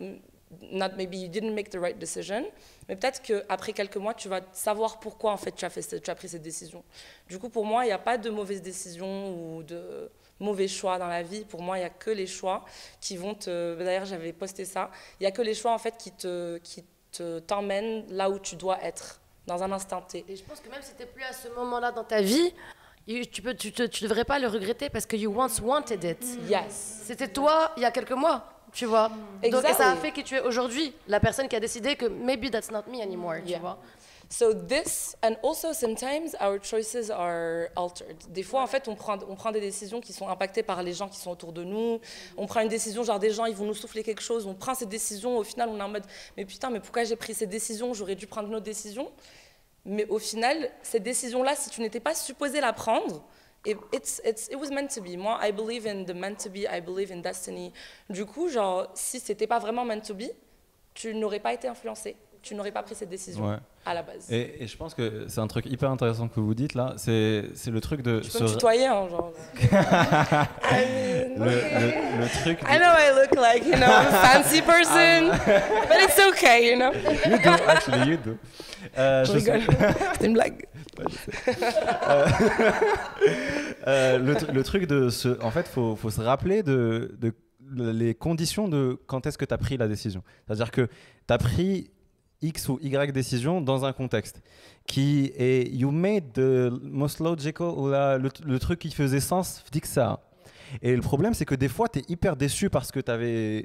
maybe you didn't make the right decision, mais peut-être qu'après quelques mois, tu vas savoir pourquoi en fait tu as pris cette décision. Du coup, pour moi, il n'y a pas de mauvaise décision ou de mauvais choix dans la vie. Pour moi, il n'y a que les choix qui vont te... D'ailleurs, j'avais posté ça. Il n'y a que les choix en fait qui t'emmènent là où tu dois être, dans un instant T. Et je pense que même si tu n'es plus à ce moment-là dans ta vie, tu devrais pas le regretter parce que you once wanted it. Yes. C'était toi il y a quelques mois, tu vois. Donc, et ça a fait que tu es aujourd'hui la personne qui a décidé que maybe that's not me anymore, tu vois. So this, and also sometimes our choices are altered. Des fois, en fait, on prend des décisions qui sont impactées par les gens qui sont autour de nous. On prend une décision, genre des gens, ils vont nous souffler quelque chose. On prend cette décision, au final, on est en mode, mais putain, mais pourquoi j'ai pris cette décision? J'aurais dû prendre une autre décision. Mais au final, cette décision-là, si tu n'étais pas supposé la prendre, it was meant to be. Moi, I believe in the meant to be, I believe in destiny. Du coup, genre, si c'était pas vraiment meant to be, tu n'aurais pas été influencé. Tu n'aurais pas pris cette décision à la base. Et je pense que c'est un truc hyper intéressant que vous dites là, c'est le truc de... Tu peux me tutoyer, hein, genre. le truc... I know I look like, you know, a fancy person, but it's okay, you know. You do, actually, you do. Je rigole, c'est une blague. Le truc de... En fait, faut se rappeler de les conditions de quand est-ce que tu as pris la décision. C'est-à-dire que tu as pris X ou Y décision dans un contexte qui est you made the most logical ou le truc qui faisait sens dit que ça. Et le problème c'est que des fois tu es hyper déçu parce que tu avais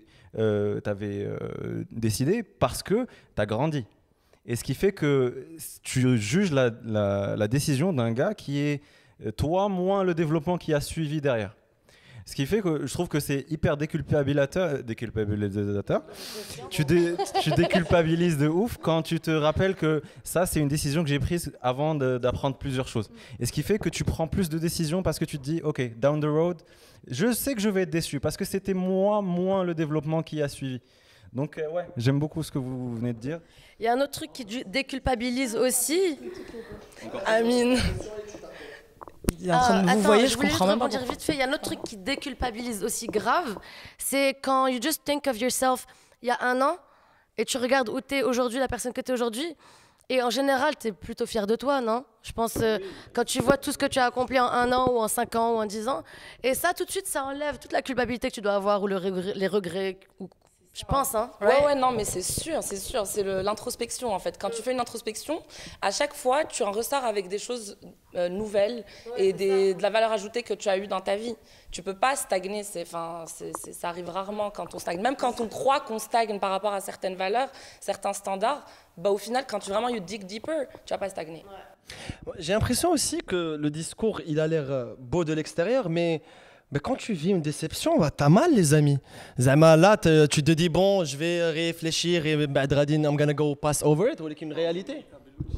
décidé parce que tu as grandi. Et ce qui fait que tu juges la décision d'un gars qui est toi moins le développement qui a suivi derrière. Ce qui fait que je trouve que c'est hyper déculpabilisateur. Tu déculpabilises de ouf quand tu te rappelles que ça, c'est une décision que j'ai prise avant d'apprendre plusieurs choses. Et ce qui fait que tu prends plus de décisions parce que tu te dis, OK, down the road, je sais que je vais être déçu parce que c'était moi moins le développement qui a suivi. Donc, ouais, j'aime beaucoup ce que vous venez de dire. Il y a un autre truc qui déculpabilise aussi. Amine. Il est en train de vous voyez, je comprends même pas. Vite fait, il y a un autre truc qui déculpabilise aussi grave, c'est quand you just think of yourself il y a un an et tu regardes où tu es aujourd'hui, la personne que tu es aujourd'hui, et en général, tu es plutôt fier de toi, non? Je pense quand tu vois tout ce que tu as accompli en 1 an ou en 5 ans ou en 10 ans, et ça, tout de suite, ça enlève toute la culpabilité que tu dois avoir ou les regrets. Je pense, hein. Ouais, non, mais c'est sûr, c'est l'introspection en fait. Quand tu fais une introspection, à chaque fois, tu en ressors avec des choses nouvelles et de la valeur ajoutée que tu as eue dans ta vie. Tu peux pas stagner, ça arrive rarement quand on stagne. Même quand on croit qu'on stagne par rapport à certaines valeurs, certains standards, bah au final, quand tu vraiment you dig deeper, tu vas pas stagner. Ouais. J'ai l'impression aussi que le discours, il a l'air beau de l'extérieur, mais quand tu vis une déception, t'as mal, les amis. Zama, là, tu te dis, bon, je vais réfléchir et I'm gonna go pass over it, ou une réalité.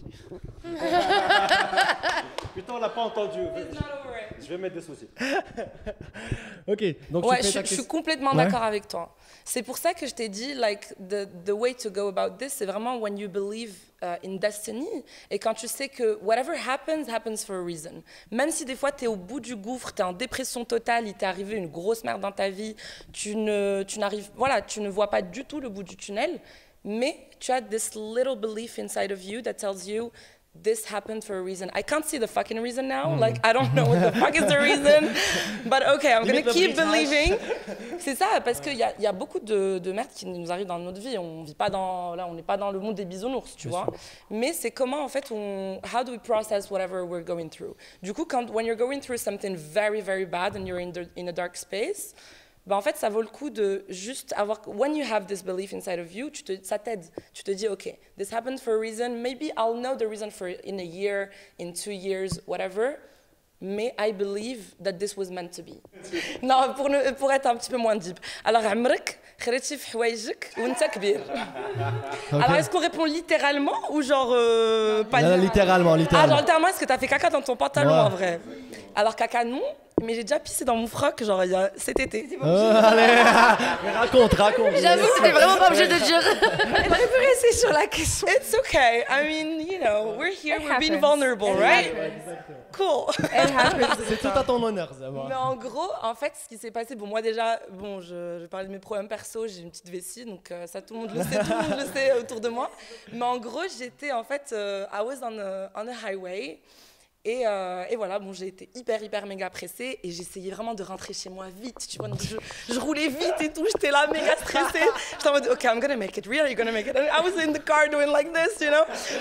Putain, on l'a pas entendu. Je vais mettre des soucis. Ok, donc ouais, je suis complètement d'accord avec toi. C'est pour ça que je t'ai dit, like, the way to go about this, c'est vraiment when you believe in destiny. Et quand tu sais que whatever happens, happens for a reason. Même si des fois tu es au bout du gouffre, tu es en dépression totale, il t'est arrivé une grosse merde dans ta vie, tu ne vois pas du tout le bout du tunnel, mais tu as this little belief inside of you that tells you this happened for a reason. I can't see the fucking reason now. Like, I don't know what the fuck is the reason. But okay, I'm gonna keep believing. C'est ça, parce qu'il y a beaucoup de merde qui nous arrive dans notre vie. On vit pas on n'est pas dans le monde des bisounours, tu vois. Mais c'est comment, en fait, how do we process whatever we're going through? Du coup, when you're going through something very, very bad and you're in a dark space, en fait, ça vaut le coup de juste avoir... When you have this belief inside of you, ça t'aide. Tu te dis, OK, this happened for a reason. Maybe I'll know the reason for it in a year, in 2 years, whatever. Mais I believe that this was meant to be. Non, pour être un petit peu moins deep. Alors, عمرك خرجتي في حوايجك وانت كبير. Alors, est-ce qu'on répond littéralement ou genre pas littéralement. Ah, genre littéralement, est-ce que t'as fait caca dans ton pantalon en vrai? Alors, caca, non. Mais j'ai déjà pissé dans mon froc, genre cet été. Allez, raconte. J'avoue que t'es vraiment pas obligé de dire. Elle aurait pu rester sur la question. It's okay. I mean, you know, we're here, we're being vulnerable, right? cool. C'est tout à ton honneur, Zama. Mais en gros, en fait, ce qui s'est passé, bon, moi déjà, bon, je parlais de mes problèmes perso, j'ai une petite vessie, donc ça, tout le monde le sait, tout le monde le sait autour de moi. Mais en gros, j'étais en fait, I was on a highway. Et voilà, bon, j'ai été hyper méga pressée et j'essayais vraiment de rentrer chez moi vite, tu vois. Donc je roulais vite et tout, j'étais là méga stressée. J'étais en mode, OK, I'm gonna make it. Really, are you gonna make it? And I was in the car doing like this, you know.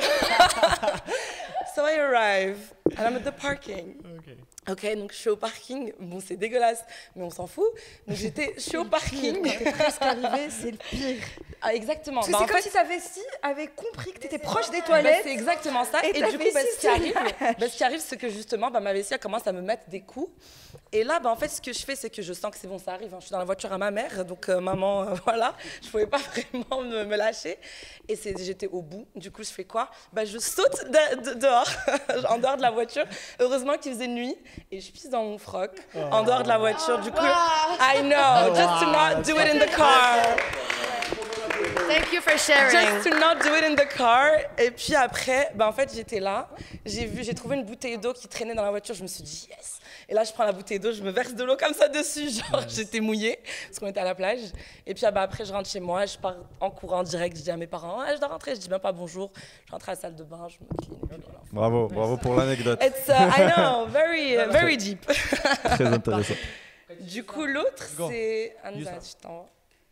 So I arrive and I'm at the parking. Ok, donc je suis au parking. Bon, c'est dégueulasse, mais on s'en fout. Donc je suis au parking. Quand t'es presque arrivé, c'est le pire. Ah, exactement. Parce que c'est comme si ta vessie avait compris que t'étais proche des toilettes. C'est exactement ça. Et du coup, ce qui arrive, c'est que justement, ma vessie elle commence à me mettre des coups. Et là, en fait, ce que je fais, c'est que je sens que c'est bon, ça arrive. Je suis dans la voiture à ma mère, donc maman, voilà, je pouvais pas vraiment me lâcher. Et j'étais au bout. Du coup, je fais quoi? Je saute dehors, en dehors de la voiture. Heureusement qu'il faisait nuit. Et je pisse dans mon froc, en dehors de la voiture. Du coup, I know, just to not do it in the car. Thank you for sharing. Just to not do it in the car. Et puis après, en fait, j'étais là. J'ai trouvé une bouteille d'eau qui traînait dans la voiture. Je me suis dit, yes. Et là, je prends la bouteille d'eau, je me verse de l'eau comme ça dessus. Genre, j'étais mouillée, parce qu'on était à la plage. Et puis après, je rentre chez moi, je pars en courant direct. Je dis à mes parents, je dois rentrer. Je dis même pas bonjour. Je rentre à la salle de bain, je me clean. Et puis voilà. Bravo pour l'anecdote. It's, I know, very deep. Très intéressant. Du coup, l'autre, c'est... Anza, je t'envoie.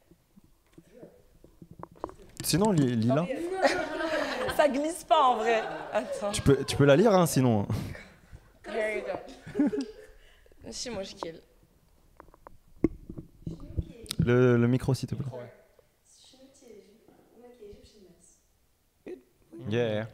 Sinon, Lila. Ça glisse pas en vrai. Attends. Tu peux la lire, hein, sinon. Here you go. ماشي مشكل. Le micro, s'il te plaît. Yeah.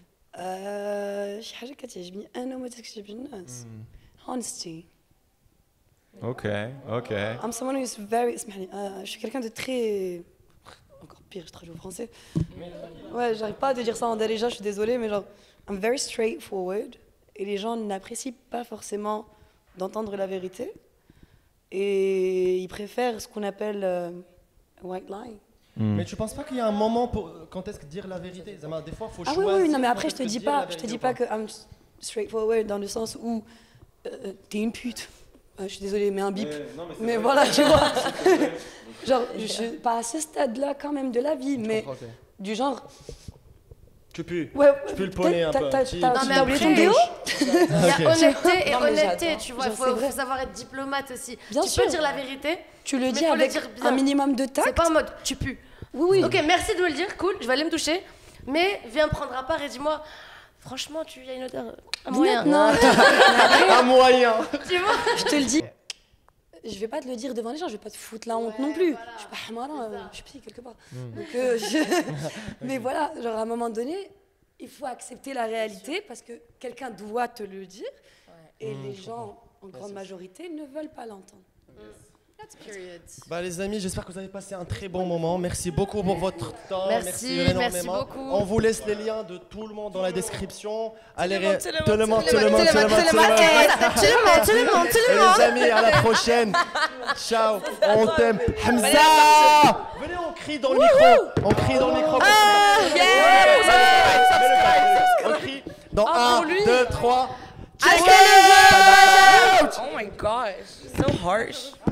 شي حاجة كتعجبني أنا وما تكتعجبش الناس. Honesty. Ok. I'm someone who is very... اسمحلي. Je suis quelqu'un de très... Encore pire, je traduis au français. Ouais, j'arrive pas à te dire ça en darija, je suis désolée, mais genre... I'm very straightforward. Et les gens n'apprécient pas forcément d'entendre la vérité. Et ils préfèrent ce qu'on appelle white lie. Mais tu penses pas qu'il y a un moment pour quand est-ce que dire la vérité? Des fois, faut choisir. Oui, non, mais après, je te dis pas que I'm straightforward dans le sens où t'es une pute. Je suis désolée, mais un bip. Mais voilà, tu vois. Genre, pas à ce stade-là quand même de la vie, mais du genre. Tu pues. Ouais, tu pues le poney un peu. Non, mais oublié ton déo. Il y a honnêteté et honnêteté, tu vois. Il faut savoir être diplomate aussi. Bien sûr. Tu peux dire la vérité. Tu le dis avec un minimum de tact. C'est pas en mode tu pues. Oui. Ok, merci de me le dire, cool, je vais aller me toucher. Mais viens me prendre à part et dis-moi, franchement, il y a une odeur. Un moyen. Non. Un moyen. Tu vois? Je te le dis. Je vais pas te le dire devant les gens, je vais pas te foutre la honte non plus. Voilà. Je suis pas hamara, je suis psy quelque part. Donc, mais voilà, genre à un moment donné, il faut accepter la réalité parce que quelqu'un doit te le dire et les gens, en grande majorité, ne veulent pas l'entendre. Les amis, j'espère que vous avez passé un très bon moment. Merci beaucoup pour votre temps. Merci énormément. Beaucoup. On vous laisse les liens de tout le monde dans la description. Allez, tout le monde. Les amis, à la prochaine. Ciao, on t'aime. Hamza, venez, on crie dans le micro. On crie dans le micro. On crie dans 1, 2, 3. Oh my gosh, so harsh.